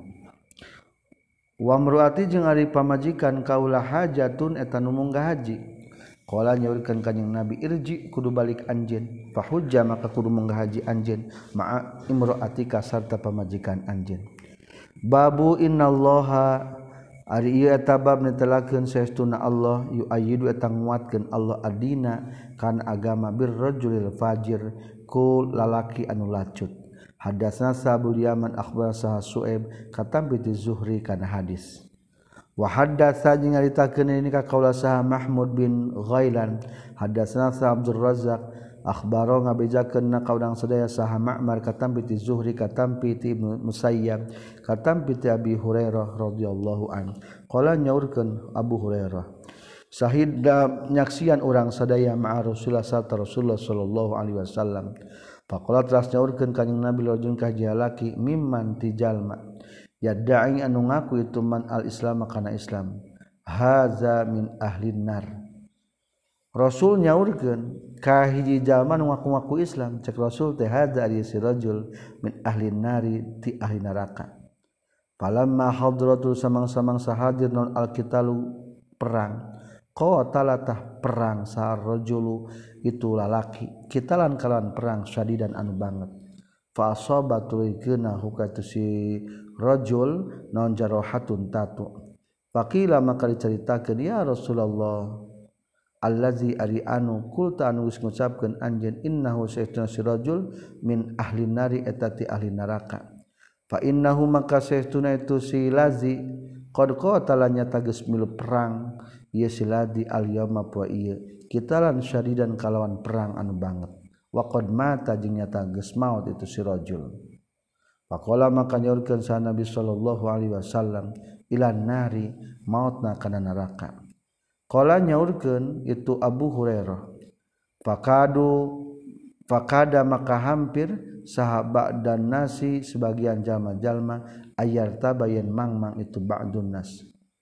wa mruati jeung ari pamajikan kaula hajatun eta nu munggah haji qala nyaurkeun kanjing Nabi irji kudu balik anjeun fa hujja maka kudu munggah haji anjeun ma'a imraatika sarta pamajikan anjeun babu innallaha ari ieu eta bab netelakeun saestuna Allah yu'ayyidu eta nguatkeun Allah adina kana agama birrajulil fajir ku lalaki anu lacut hadatsana Sabul Yaman akhbar sah Su'aib katam bi Zuhri kana hadis wa hadatsa jeung nyaritakeun ini ka kaula sah Mahmud bin Ghailan hadatsana sa Abdul Razzaq akhbaro ngabejakeun na kaudang sadaya saha Ma'mar katam piti Zuhri katam piti Ibnu Musayyab katam piti Abi Hurairah radhiyallahu an qala nyaurkeun Abu Hurairah sahida nyaksian urang sadaya ma'a Rasulullah sallallahu alaihi wasallam faqala teras nyaurkeun kanjing Nabi rajul ka jalaki mimman tijalma yadda'i anu ngaku itu man al-islam kana Islam haza min ahlin nar Rasul nyaurkeun ka hiji jalma nu ngaku-ngaku Islam cek Rasul teh hadza ari si rajul min ahli nari ti ahli neraka falamma hadratul samang-samang sahadir non alqitalu perang qatalatah perang sa rajulu itu lalaki kitalan kalan perang syadidan anu banget fa asabatul ikna hukatu si rajul non jarohatun tatu faqila maka diceritakeun ya Rasulullah allazi ari anu kulta anu geus ngucapkeun anjeun innahu sayyiduna sirajul min ahli nari eta ti ahli neraka fa innahu maka sayyiduna itu si lazi qad qatala nyata geus milu perang ieu si lazi al yauma poe ieu kitalan syadidan kalawan perang anu banget wa qad mata jeung nyata geus maot itu si rajul faqala maka nyaurkeun sa Nabi sallallahu alaihi wasallam ilan nari mautna kana neraka qala nyaurkeun itu Abu Hurairah faqadu faqada maka hampir sahabat dan nasi sebagian jalma-jalma ayar tabayan mangmang itu ba'dun nas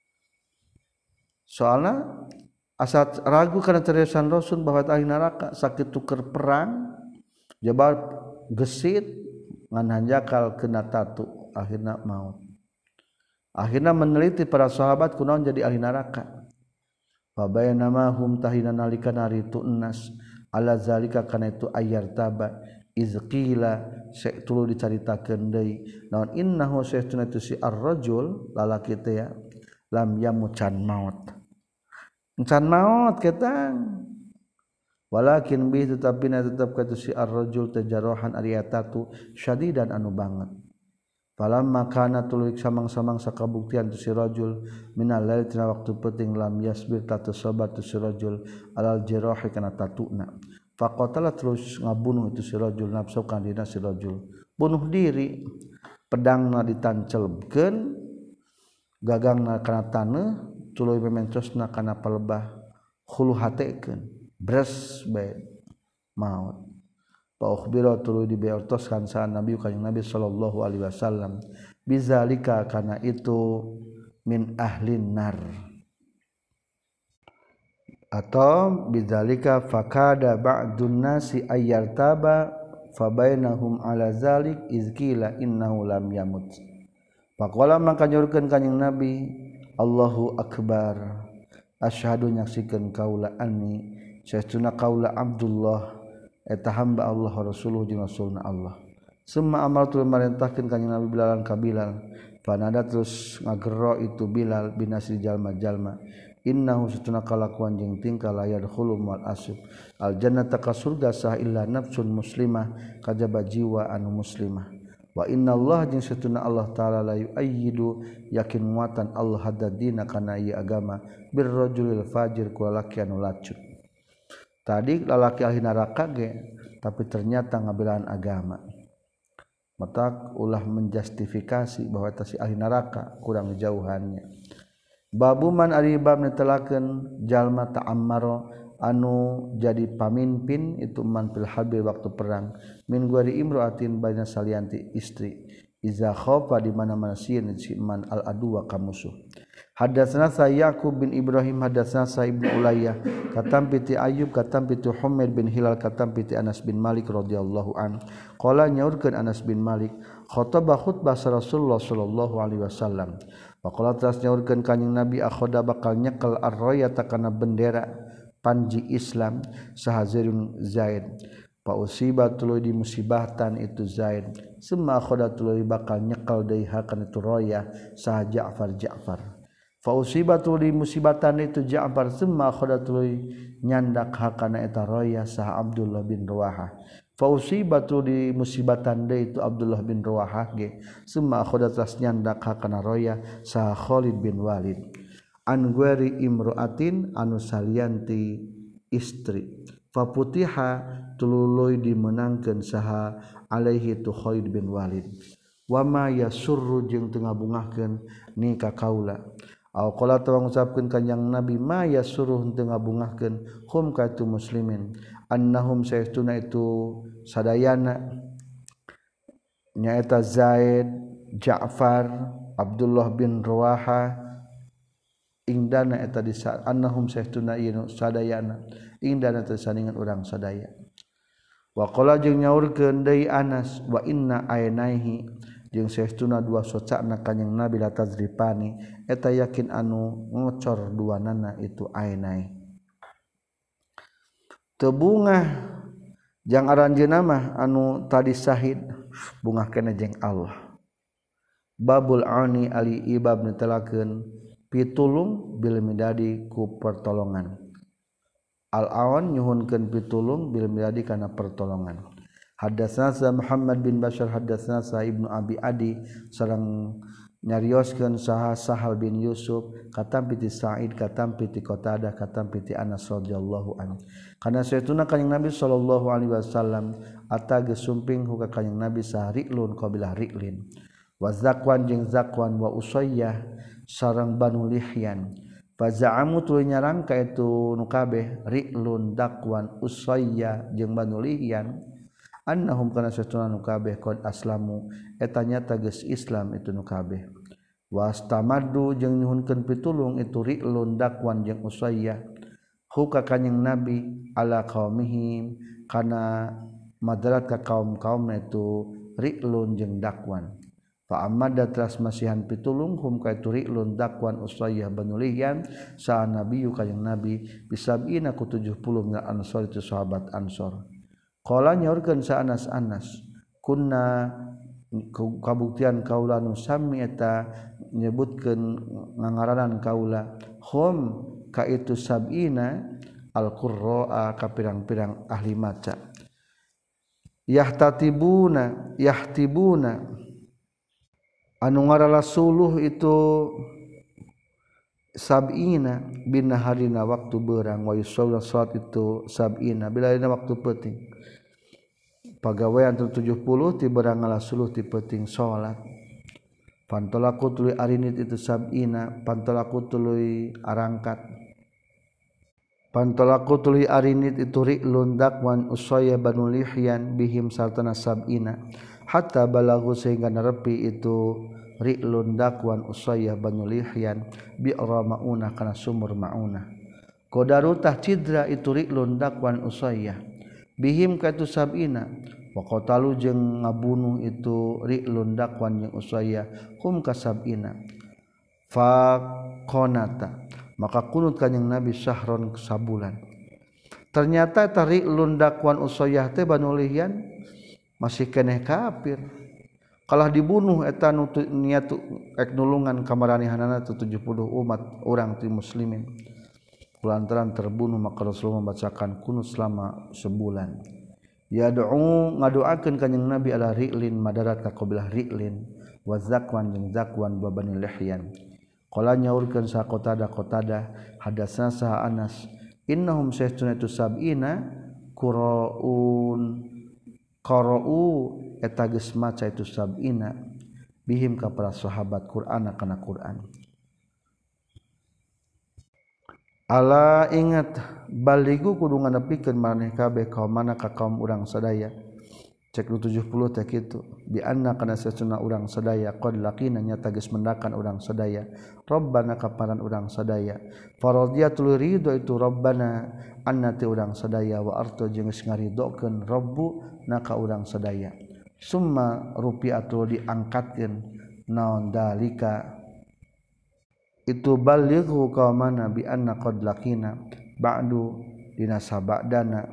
soalna asa ragu kana cariyosan Rasul bahwa ahli neraka sakit tuker perang jabal gesit ngan hanjakal kena tatu akhirna maut akhirna meneliti para sahabat kunaon jadi ahli neraka fa bayanama hum tahina nalika nari tu nas ala zalika kana itu ayar taba izqila satulu dicaritakeun deui naon innahu sayyiduna tu si ar-rajul lalaki teh ya lam yamucan maut can maut ketang walakin bi tetapina tetap katu si ar-rajul tajarruhan ariyatatu syadidan anu banget falamma kana tuluy samang-samang sakabuktian tu si rajul minal lail tina waktu penting lam yasbir tatu sabat tu si rajul alal jirahi kana tatuna faqatala terus ngabunuh itu si rajul nafsu kan dina si rajul bunuh diri pedangna ditancelkeun gagangna kana taneuh tuluy mementosna kana palebah khulu hatekeun bres bae maut fa ukhbira tuluy dibeortoskan sa Nabi ka Nabi sallallahu alaihi wasallam bizalika kana itu min ahlin nar atau bizalika fakada ba'dun nasi ayyartaba fabainahum ala zalik izqila innahu lam yamut faqala maka nyorkeun kanjing Nabi Allahu akbar asyhadu nyaksikeun kaula anni saestuna kaula Abdullah eta hamba Allah rasuluh jeung rasulna Allah summa amartu marentahkeun kanjing Nabi Bilalan ka Bilal fanada terus ngagero itu Bilal binasri jalma-jalma innahu satuna kalakuan jeung tingkah layar khulum wal asib al jannata ka surga sah illa nafsun muslimah kajaba jiwa anu muslimah wa innallaha jeung satuna Allah taala la yu'ayyidu yakin muatan Allah haddadina kana ieu agama bir rajulil fajir ku lalaki anu lacut tadi lalaki ahli neraka ge tapi ternyata ngabelaan agama matak ulah menjustifikasi bahwa eta si ahli neraka kurang jauhannya babu man ari bab netelakeun jalma ta'ammaro anu jadi pamimpin itu man fil harbi waktu perang min guari imraatin baina salianti istri iza khaufa di mana-mana sieun si man al aduwa ka musuh hadatsana sa Yaqub bin Ibrahim hadatsana sa Ibnu Ulayyah katam piti Ayyub katam piti Humaid bin Hilal katam piti Anas bin Malik radhiyallahu an qala nyaurkeun Anas bin Malik khotbah khutbah Rasulullah sallallahu alaihi wasallam faqala tas nyaurkeun kanjing Nabi akhoda bakal nyekel ar-rayata kana bendera panji Islam sahazirun Zaid pa usiba tuluy dimusibahtan itu Zaid summa akhoda tuluy bakal nyekel deui hakan itu roya sah Ja'far Ja'far fa usiba tuluy musibatan itu Ja'far summa akhoda tuluy nyandak hakana eta roya sah Abdullah bin Ruwahah fa usiba tuluy musibatan deui itu Abdullah bin Ruwahah ge summa akhoda tas nyandak hakana roya sah Khalid bin Walid an guari imraatin anu salianti istri faputiha tululoy dimenangkeun saha alaihi tu Khalid bin Walid wama yasurru jeung teu ngabungahkeun ni ka kaula au qala tawang ngucapkeun kanjing Nabi ma yasurru teu ngabungahkeun hum ka tu muslimin annahum saestuna itu sadayana nyaeta Zaid Ja'far Abdullah bin Ruwahah indana eta disa annahum sahtuna ieu sadayana indana teh saningan urang sadaya wa qala jeung nyaurkeun deui Anas wa inna aynaihi jeung sahtuna dua socana kanjing Nabi la tazripani eta yakin anu ngocor duanana itu aynai teu bungah jang aranjeunna mah anu tadi syahid bungah keneh jeung Allah babul ani ali ibab netelakeun pitulung bil midadi ku pertolongan al-awan nyuhunkeun pitulung bil miladi kana pertolongan. Hadatsana Muhammad bin Bashar hadatsana Ibnu Abi Adi sareng nyarioskeun saha Sahal bin Yusuf katampi ti Sa'id katampi ti Qatadah katampi ti Anas radhiyallahu anhu kana saytuna kanjing Nabi sallallahu alaihi wasallam ata geus sumping ka kanjing Nabi sahri'lun qabilah ri'lin wa Zakwan jeung Zakwan wa Usayyah sareng Banu Lihyan fa za'amu tuluy nyarang ka itu nu kabeh ri'lun Dakwan Usayyah jeung Banu Lihyan annahum kana satuna nu kabeh qad aslamu eta nyata geus Islam itu nu kabeh wastamaddu jeung nyuhunkeun pitulung itu ri'lun Dakwan jeung Usayyah hu ka kanjing Nabi ala qaumihim kana madarat ka kaum-kaumna itu ri'lun jeung Dakwan fa amada teras masihan pitulung hum ka itu ri'lun Dakwan Usayyah Banu Lihyan sa nabi kanjing Nabi bisabina ku tujuh puluh minal ansor itu sahabat Ansor. Qala nyaurkeun sa Anas Anas kunna kabuktian kaula nu sami eta nyebutkeun ngangaranan kaula hum ka itu sab'ina al-qurra'a ka pirang-pirang ahli maca yahtatibuna yahtibuna anu ngarala suluh itu sab'ina bina harina waktu beurang wa yusalla salat itu sab'ina bila dina waktu peuting pagawean tujuh puluh ti beurang ngalasuluh ti peuting salat pantolaku tuluy arinit itu sab'ina pantolaku tuluy arangkat pantolaku tuluy arinit itu ri'lun Dakwan Usayyah Banu Lihyan bihim sartana sab'ina hatta balagu sehingga nerepi itu ri'lun Dakwan Usayyah Banu Lihyan bi'ra maunah kana sumur maunah qadaru tah cidra itu ri'lun Dakwan Usayyah bihim ka itu sab'ina wa qatalu jeung ngabunuh itu ri'lun Dakwan jeung Usayyah hum ka sab'ina fa qanata maka kunut kanjing Nabi syahron sabulan ternyata eta ri'lun Dakwan Usayyah teh Banu Lihyan masih keneh kafir kalah dibunuh eta nu niat ek nulungan kamaranehanana tujuh puluh umat orang ti muslimin lantaran terbunuh maka Rasulullah membacakan kunut selama sebulan yad'u ngadoakeun kanjing Nabi ala ri'lin madarat ka qabilah ri'lin wa Zakwan jeung Zakwan wa Bani Lihyan qala nyaurkeun sa Qatadah Qatadah hadatsana sa Anas innahum saytuna tu sab'ina qura'un qara'u eta geus maca itu sab'ina bihim ka para sahabat Qur'an kana Qur'an ala ingat baligu kudu nganepikeun maneh kabeh kaum mana ka kaum urang sadaya cek tujuh puluh teh kitu bi anna kana sesuna urang sadaya qad laqina nyata geus mendakan urang sadaya rabbana kaparan urang sadaya faradiyatul ridho itu rabbana anna ti urang sadaya wa arto jeung geus ngaridokeun rabbu naka urang sadaya summa rupiatul diangkatkeun naon dalika itu balighu qaumana bi anna qad laqina ba'du dina sabadana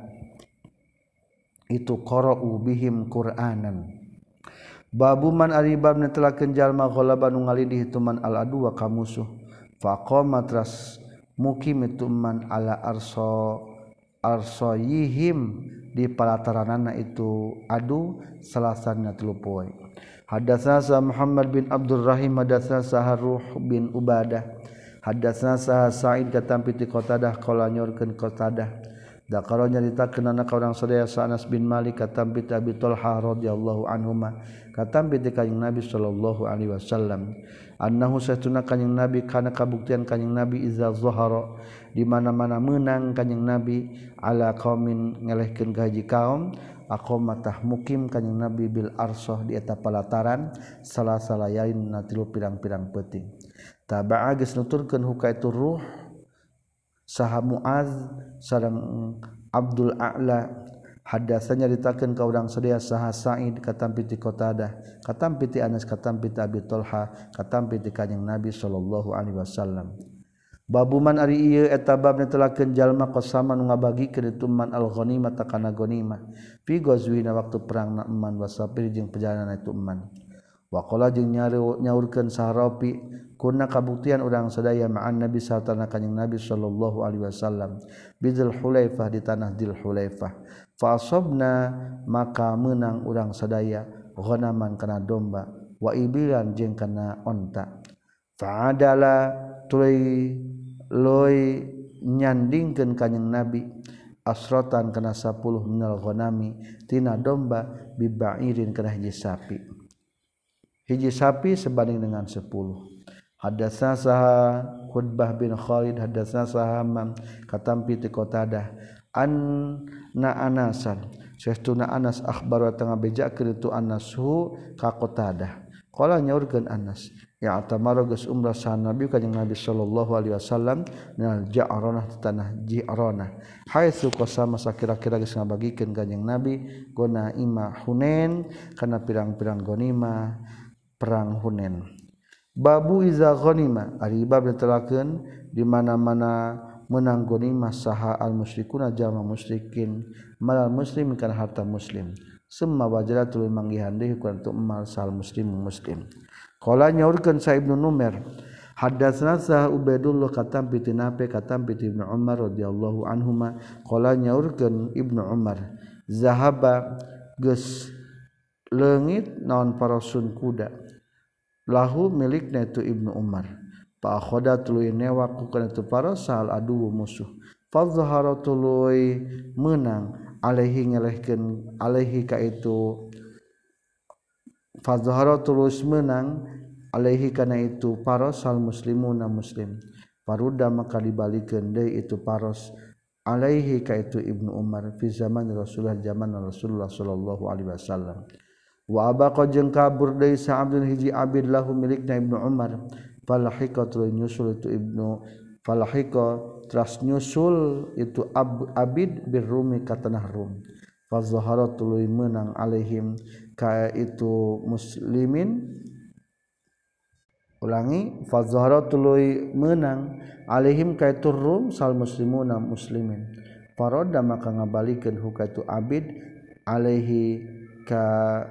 itu qara'u bihim qur'anan babu man ari bab netelakeun jalma ghalaba nu ngalindih itu man al adu wa kamusuh faqama tras mukim itu man ala arsa arsayihim di palataranana itu adu salasana tilu poe hadatsana Muhammad bin Abdul Rahim hadatsana Saharuh bin Ubadah hadatsana Sa'id katampi ti Qatadah qala nyorkeun Qatadah dakaro nyaritakeun anak urang sadaya Anas bin Malik katampi ti Abi Thalhah radhiyallahu anhuma katampi ti kanjing Nabi sallallahu alaihi wasallam annahu satuna kanjing Nabi kana kabuktian kanjing Nabi iza zahara di mana-mana menang kanjing Nabi ala qaumin ngelehkeun ka hiji kaum aqamatah mukim kanjing Nabi bil arsah di eta palataran salasa layalin na tilu pirang-pirang peuting taba'a geus nuturkeun huka itu ruh saha Muaz sareng Abdul A'la hadatsanya ditakeun ka urang sadaya saha Sa'id katampi ti Qatadah katampi ti Anas katampi ti Abi Thalhah katampi ti kanjing Nabi sallallahu alaihi wasallam babuman ari ieu eta bab netelakeun jalma qasama nu ngabagikeun itu man al-ghanimah takana ghanimah fi ghazwina waktu perang na eman wasafir jeung perjalanan itu eman wa qala jeung nyaurkeun Sahrafi kunna kabuktian urang sadaya ma'an nabi sartana kanjing nabi sallallahu alaihi wasallam bidzul hulaifah di tanah Dzul Hulaifah fa asabna maka menang urang sadaya ghanaman kana domba wa ibilan jeung kana onta fa adala tuluy loy nyandingkeun kanjing nabi asrotan kana sepuluh minal ghanami tina domba bibairin kana hiji sapi hiji sapi sebanding dengan sepuluh. Hadatsana saha Khutbah bin Khalid hadatsana saha Hammam katampi ti Qatadah anna Anasan saestuna Anas akhbar wa tengah bejakeun itu Anas hu ka Qatadah qala nyaurkeun Anas ya atamara geus umrah sa Nabi kanjing Nabi sallallahu alaihi wasallam nal Ja'ranah tanah Ji'ranah haitsu qasama sakira-kira geus ngabagikeun kanjing Nabi gona ima Hunain kana pirang-pirang ghanimah perang Hunain. Babu iza ghanima ari bab ditelakeun di mana-mana menang ghanimah saha al musyrikuna jama musyrikin malal muslim kana harta muslim summa wajala tuluy manggihan deui ku antu emal sal muslim muslim qala nyaurkeun sa Ibnu Numair hadatsana sa Ubaidullah katam piti nape katam piti Ibnu Umar radhiyallahu anhuma qala nyaurkeun Ibnu Umar zahaba geus leungit naon parasun kuda lahu milikna itu Ibnu Umar fa akhoda tuluy newak ku kana itu para sal adu musuh fa zahara tuluy menang alaihi ngelehkeun alaihi ka itu fa zahara tulus menang alaihi kana itu paros sal muslimuna muslim paruda maka dibalikeun deui itu paros alaihi ka itu Ibnu Umar fi zaman Rasulullah zaman Rasulullah sallallahu alaihi wasallam wa abaqa jeung kabur deui sa Abdul hiji abid lahu milikna Ibnu Umar falahiqa tuluy nyusul itu Ibnu falahiqa teras nyusul itu ab, abid birrumi ka tanah Rum fa zahara tuluy menang alaihim ka itu muslimin ulangi fa zahara tuluy menang alaihim ka itu Rum sal muslimuna muslimin faroda maka ngabalikeun huka itu abid alaihi ka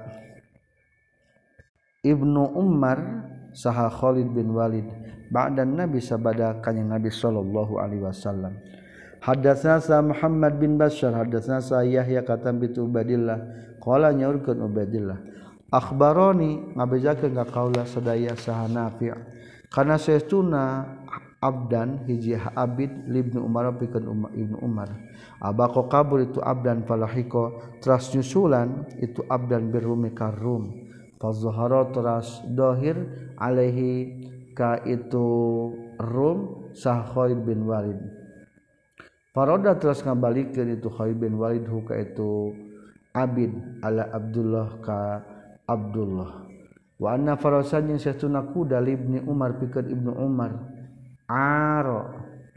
Ibnu Umar saha Khalid bin Walid ba'dan Nabi sabada kanjing Nabi sallallahu alaihi wasallam. Hadatsana sa Muhammad bin Bashar hadatsana sa Yahya katam bi Ubaidillah qala nyaurkeun Ubaidillah akhbaroni ngabejakeun ka kaula sadaya saha Nafi' kana saestuna abdan hiji abid libnu Umar pikeun Ibnu Umar abaqo kabur itu abdan falahiko teras nyusulan itu abdan birrumi karum fazahara teras dohir alaihi ka itu Rum sah Khalid bin Walid paroda teras ngabalikeun itu Khalid bin Walid hu ka itu abid ala Abdullah ka Abdullah wa anna farasan yang satuna kuda libni Umar pikeun Ibnu Umar aro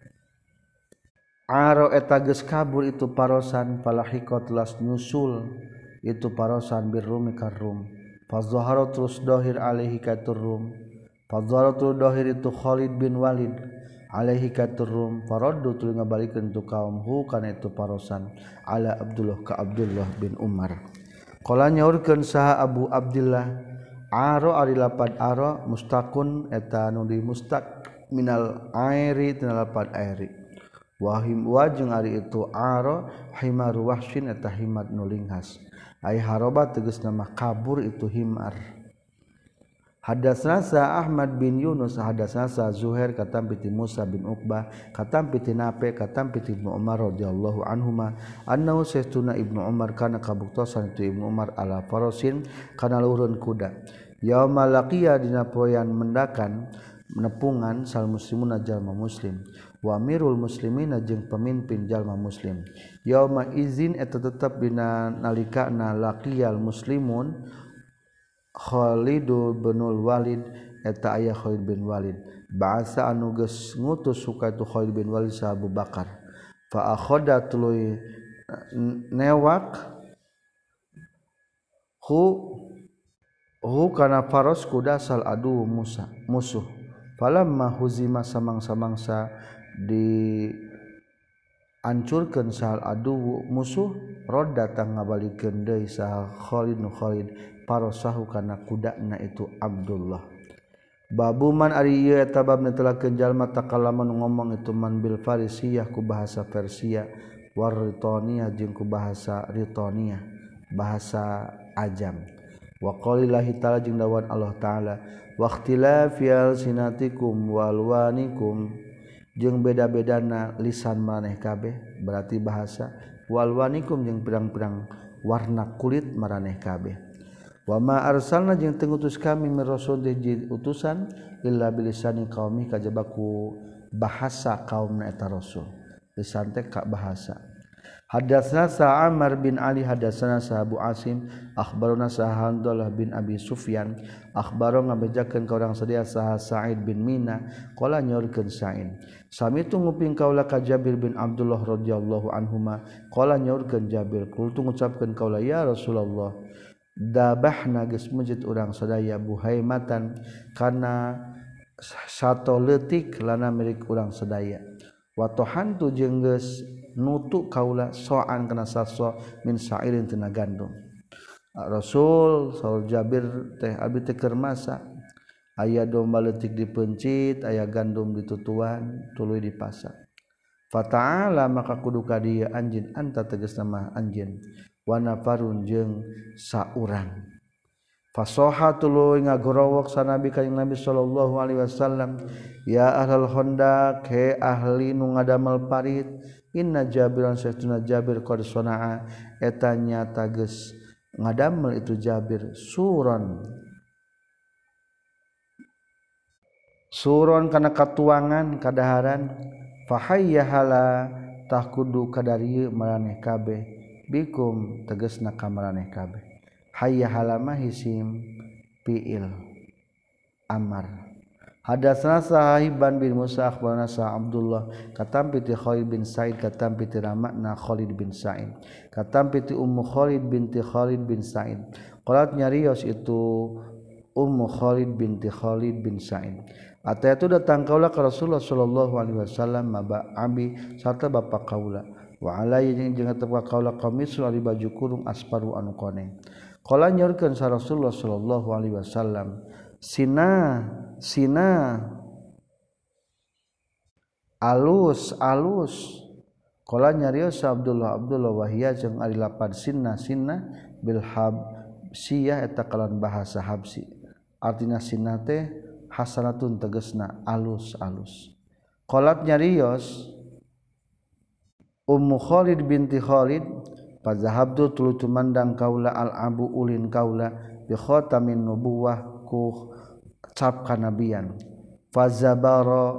aro eta geus kabur itu parosan falahiko teras nyusul itu parosan birrumi karum fazahara terus dohir alaihi katurum fazahara terus dohir itu Khalid bin Walid alaihi katurum faraddu tuluy ngabalikeun tu kaum hu kana itu parosan ala Abdullah ka Abdullah bin Umar qala nyaurkeun saha Abu Abdillah aro ari lapad aro mustaqun eta nu di mustaq minal airi tina lapad airi wahim wajeng ari itu aro himar wahsyin eta himar nu linghas ai haroba tegas nama kabur itu himar. Hadatsana sa Ahmad bin Yunus hadatsana sa Zuhair katam piti Musa bin Uqbah katam piti Nafi katam piti Ibnu Umar radhiyallahu anhuma annahu sayyiduna Ibnu Umar kana kabuktosan itu Ibnu Umar ala farasin kana luhurun kuda yauma laqiya dina poean mendakan nepungan sal muslimuna jalma muslim wa amirul muslimina jeung pemimpin jalma muslim yauma izin eta tetep dina nalikana laqiyal muslimun Khalid bin Walid eta aya Khalid bin Walid ba'asa anu geus ngutus suka itu Khalid bin Walid sa Abu Bakar fa akhadha tuluy newak hu hu kana faros kuda sal adu Musa musuh falamma huzima samang-samangsa di ancurkeun sal adu musuh roda tang ngabalikeun deui saha Khalid nu Khalid parosahu kana kudana itu Abdullah babuman ari ieu eta bab netelakeun jalma takalaman ngomong itu man bil farisiyah ku bahasa Persia war ritoniyah jeung ku bahasa ritoniyah bahasa ajam wa qaulillahi ta'ala jeung dawan Allah taala waqtilafi alsinatikum walwanikum jeung beda-bedana lisan maneh kabeh berarti bahasa walwanikum jeung pirang-pirang warna kulit maraneh kabeh wa ma arsalna jeung teu ngutus kami min rasul di utusan illa bilisani qaumi kajaba ku bahasa kaumna eta rasul lisan teh ka bahasa hadatsana sa Amr bin Ali hadatsana sa Abu Asim akhbaruna sa Handalah bin Abi Sufyan akhbaro ngabejakeun ka urang sadaya sa Sa'id bin Mina qala nyorkeun Sa'id sami tu nguping kaula ka Jabir bin Abdullah radhiyallahu anhuma qala nyorkeun Jabir kultu ngucapkeun kaula ya Rasulullah dabahna geus mujud urang sadaya buhaimatan kana sato leutik lana milik urang sadaya wa tohantu jeung geus nutu kaula soan kana saso min sa'irin tina gandum Rasul saur Jabir teh abi teh keur masak aya domba leutik dipencit aya gandum ditutuan tuluy dipasak fata'ala maka kudu ka dieu anjeun anta tegasna mah anjeun wa nafarun jeung saurang fasoha tuluy ngagorowok sanabi ka Nabi sallallahu alaihi wasallam ya ahlal khandaq he ahli nu ngadamel parit inna Jabiran saestuna Jabir qad sanaa eta nyata geus ngadamel itu Jabir suron suron kana katuangan kadaharan fahayyahala tah kudu kadarieu maraneh kabeh bikum tegasna ka maraneh kabeh hayyahala mah isim fiil amar hadatsana Sahiban bin Musa akhbarana sa Abdullah katampi ti Khalid bin Sa'id katampi ti ramakna Khalid bin Sa'id katampi ti Ummu Khalid binti Khalid bin Sa'id qalat nyarios itu Ummu Khalid binti Khalid bin Sa'id ata itu datang kaula ka Rasulullah sallallahu alaihi wasallam maba abi sarta bapa kaula wa alai jeung jeung tepka kaula qamisul ari baju kurung asparu anu koneng qala nyorkeun sa Rasulullah sallallahu alaihi wasallam Sina Sina alus alus qala nyarios Abdullah Abdullah wahia jeung ari lapad sinna sinna bil habsiyah eta kalan bahasa habsi artina sinna teh hasanatun tegasna alus alus qalat nyarios Ummu Khalid binti Khalid fazahabtu tuluy tumandang kaula al abu ulin kaula bi khatamin nubuwah ku cap kanabian fazabara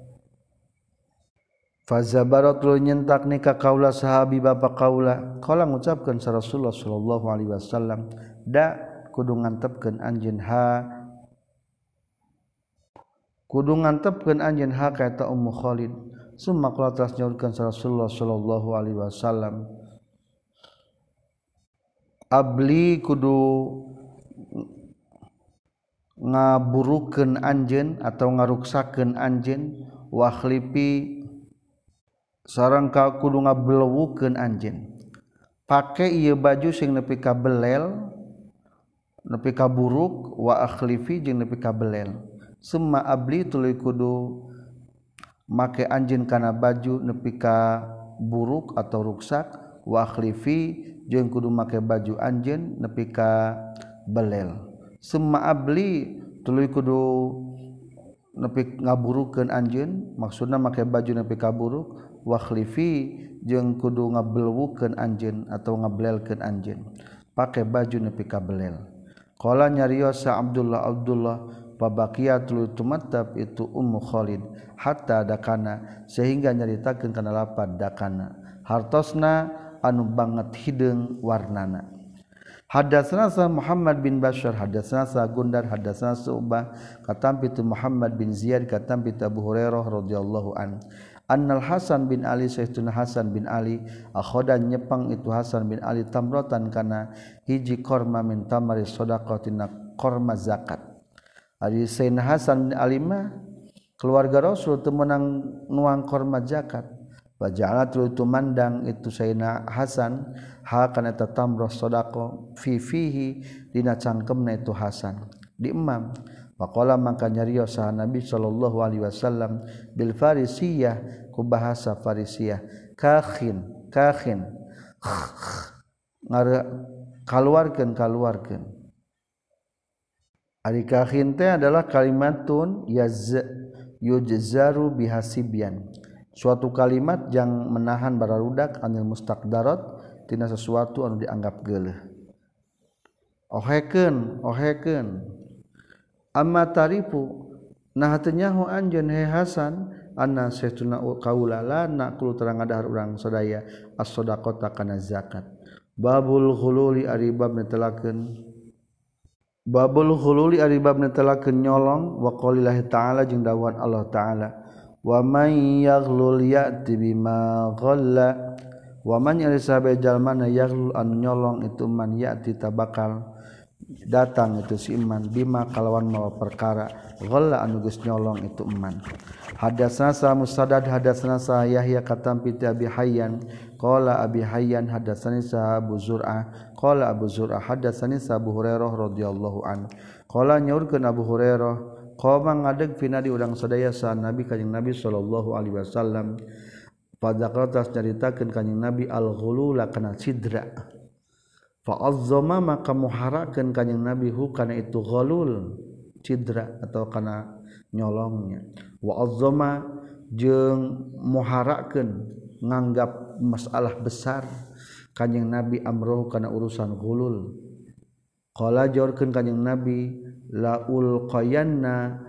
fazabara tuluy nyentak ni ka kaula sahabi bapa kaula qala ngucapkeun sa Rasulullah sallallahu alaihi wasallam da kudu ngantepkeun anjeun ha kudu ngantepkeun anjeun ha ka eta Ummu Khalid summa qala tas nyaurkeun sa Rasulullah sallallahu alaihi wasallam abli kudu ngaburukeun anjeun atau ngaruksakeun anjeun wa khlipi sareng ka kudu ngablewukeun anjeun pake ieu baju sing nepi ka belel nepi ka buruk wa akhlifi jeung nepi ka belel summa abli tuluy kudu make anjeun kana baju nepi ka buruk atau ruksak wa akhlifi jeung kudu make baju anjeun nepi ka belel summa abli tuluy kudu nepi ngaburukeun anjeun maksudna make baju nepi ka buruk wa khlifi jeung kudu ngablewukeun anjeun atau ngablelkeun anjeun pake baju nepi ka belel qala nyarios sa Abdullah Abdullah pabaqiyat tuluy tumatab itu Ummu Khalid hatta dakana sehingga nyaritakeun kana lapad dakana hartosna anu banget hideung warnana hadatsana sa Muhammad bin Bashar hadatsana sa Gundar hadatsana Su'bah katampi tu Muhammad bin Ziyad katampi tu Abu Hurairah radhiyallahu an annal Hasan bin Ali sayyiduna Hasan bin Ali akhoda nyepang itu Hasan bin Ali tamrotan kana hiji korma min tamari shadaqatina korma zakat ari sayyidina Hasan bin Ali mah keluarga Rasul teu meunang nuang korma zakat Waja'ala tuluy tumandang itu Sayyidina Hasan ha kana eta tamrah sedekah fi fihi dina cangkemna itu Hasan di imam Faqala maka nyarios saha Nabi sallallahu alaihi wasallam bil farisiyah ku bahasa farisiyah kakhin kakhin ngare kaluarkeun kaluarkeun ari kakhin teh adalah kalimatun yaz yujzaru bihasibyan suatu kalimat yang menahan bararudak anil mustaqdarat tina sesuatu anu dianggap geuleuh ohekeun ohekeun amma tarifu nah teu nyaho anjeun he Hasan anna saytuna qaula la naqulu terang adahar urang sadaya as-shadaqata kana zakat babul ghululi ari bab netelakeun babul ghululi ari bab netelakeun nyolong wa qaulillahi ta'ala jeung dawuhan Allah ta'ala wa may yaghlul ya'ti bima ghalla wa man yarisabe jalmana yaghlul an nyolong itu man ya'ti tabakal datang itu si iman bima kalawan mawa perkara ghalla anu geus nyolong itu iman hadatsana sa musaddad hadatsana sa Yahya katam piti Abi Hayyan qala Abi Hayyan hadatsani sa Abu Zur'ah qala Abu Zur'ah hadatsani sa Abu Hurairah radhiyallahu an qala nyaurkeun Abu Hurairah qoma ngadeg pina di urang sadaya sa Nabi kanjing Nabi sallallahu alaihi wasallam pada kertas nyaritakeun kanjing Nabi al-ghulula kana sidra fa'azzama maka muharakeun kanjing Nabi hu kana itu ghalul cidra atau kana nyolongnya wa azzama jeung muharakeun nganggap masalah besar kanjing Nabi amroh kana urusan ghulul qala jorkeun kanjing Nabi laul qayanna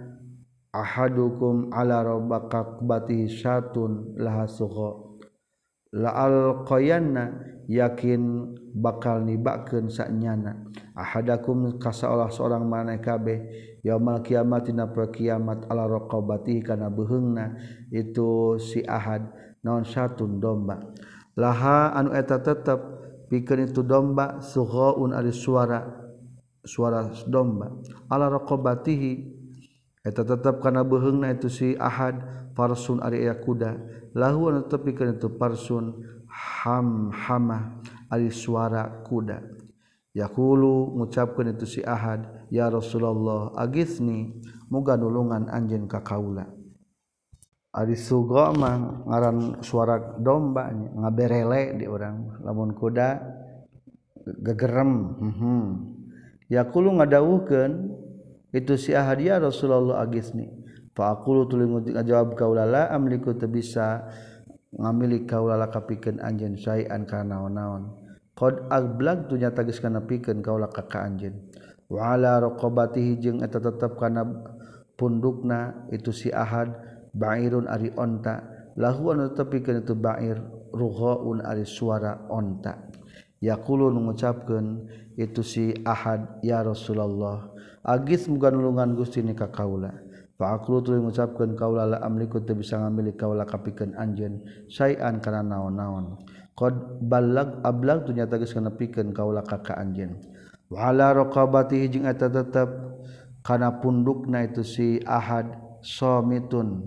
ahadukum ala rabaqabati syatun lahasugha la alqayanna yakin bakal nibakeun sanyana ahadakum kasaolah seorang maneh kabeh yaumul kiamat dina kiamat ala raqabati kana beheungna itu si ahad naon syatun domba laha anu eta tetep pikeun itu domba sughaun ari suara suara domba ala raqabatihi eta tetep kana beheungna itu si ahad farsun ari aya kuda lahu anu tetep pikeun itu parsun ham hamah ari suara kuda yaqulu ngucapkeun itu si ahad ya Rasulullah agisni muga nulungan anjeun ka kaula ari sugha mah ngaran suara domba ngaberele di urang lamun kuda gegerem hmm yaqulu ngadawuhkeun itu si ahad ya Rasulullah agisni fa aqulu tuluy ngajawab kaula la amliku teu bisa ngamili kaula lakapikeun anjeun saean kana naon-naon qad ablaq tu nyata geus kana pikeun kaula ka ka anjeun wa ala raqabatihi jeung eta tetep kana pundukna itu si ahad ba'irun ari onta lahu anu tepikeun itu ba'ir rughaun ari suara onta yaqulu ngucapkeun itu si ahad ya Rasulullah agis muga nulungan Gusti ni ka kaula fa aqlu tuluy ngucapkeun kaula la amliku teu bisa ngamili kaula kapikeun anjeun saean kana naon-naon qad ballag ablag tu nyata geus kana pikeun kaula ka ka anjeun wa ala raqabatihi jeung eta tetep kana pundukna itu si ahad samitun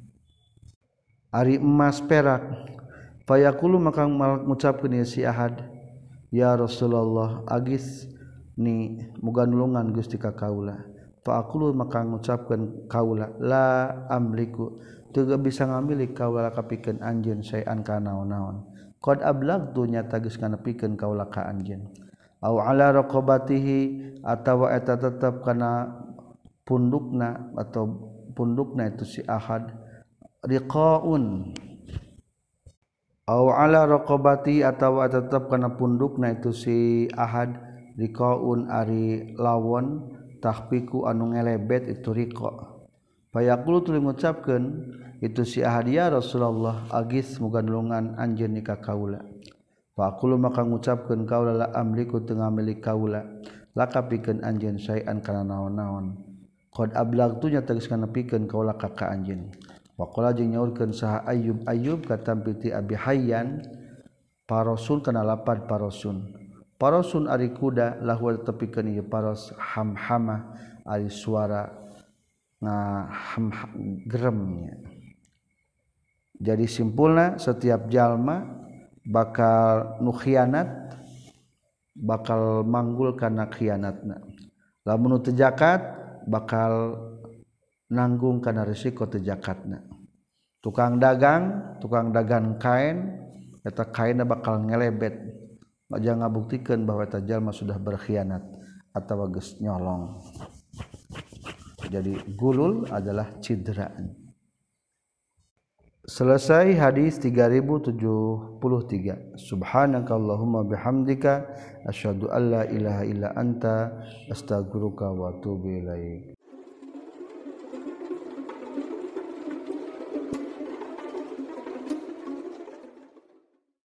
ari emas perak fa yaqulu maka ngucapkeun si ahad ya Rasulullah agis ni muga nulungan Gusti ka kaula fa aqulu maka ngucapkeun kaula la amliku teu bisa ngamili kaula kapikeun anjeun saean kana naon-naon qad ablagtu nyata geus nganepikeun kaula ka anjeun au ala raqabatihi atawa eta tetep kana pundukna atau pundukna itu si ahad riqaun au ala raqabati atawa tetep kana pundukna itu si ahad riqaun ari lawon tahpiku anu ngelebet itu riqa fayaqulu tuluy ngucapkeun itu si ahad ya Rasulullah agis muga nulungan anjeun ni ka kaula faqulu maka ngucapkeun kaula la amliku teu ngamili kaula laka pikeun anjeun saean kana naon-naon qad ablagtu nya tegas kana pikeun kaula ka ka anjeun waqala jeung nyaurkeun saha Ayyub Ayyub katam piti Abi Hayyan parasul kana lapad parasun parasun ari kuda lahu tepikeun ieu paras hamhamah ari suara nga ham geremnya jadi simpulna setiap jalma bakal nu khianat bakal manggul kana khianatna lamun teu zakat bakal nanggung kana risiko teu zakatna. Tukang dagang, tukang dagang kain, eta kainna bakal ngelebet. Aja ngabuktikeun bahwa eta jalma sudah berkhianat atawa geus nyolong. Jadi gulul adalah cidraan. Selesai hadis tiga ribu tujuh puluh tiga. Subhanakallahumma bihamdika asyhadu an la ilaha illa anta astaghfiruka wa atubu ilaik.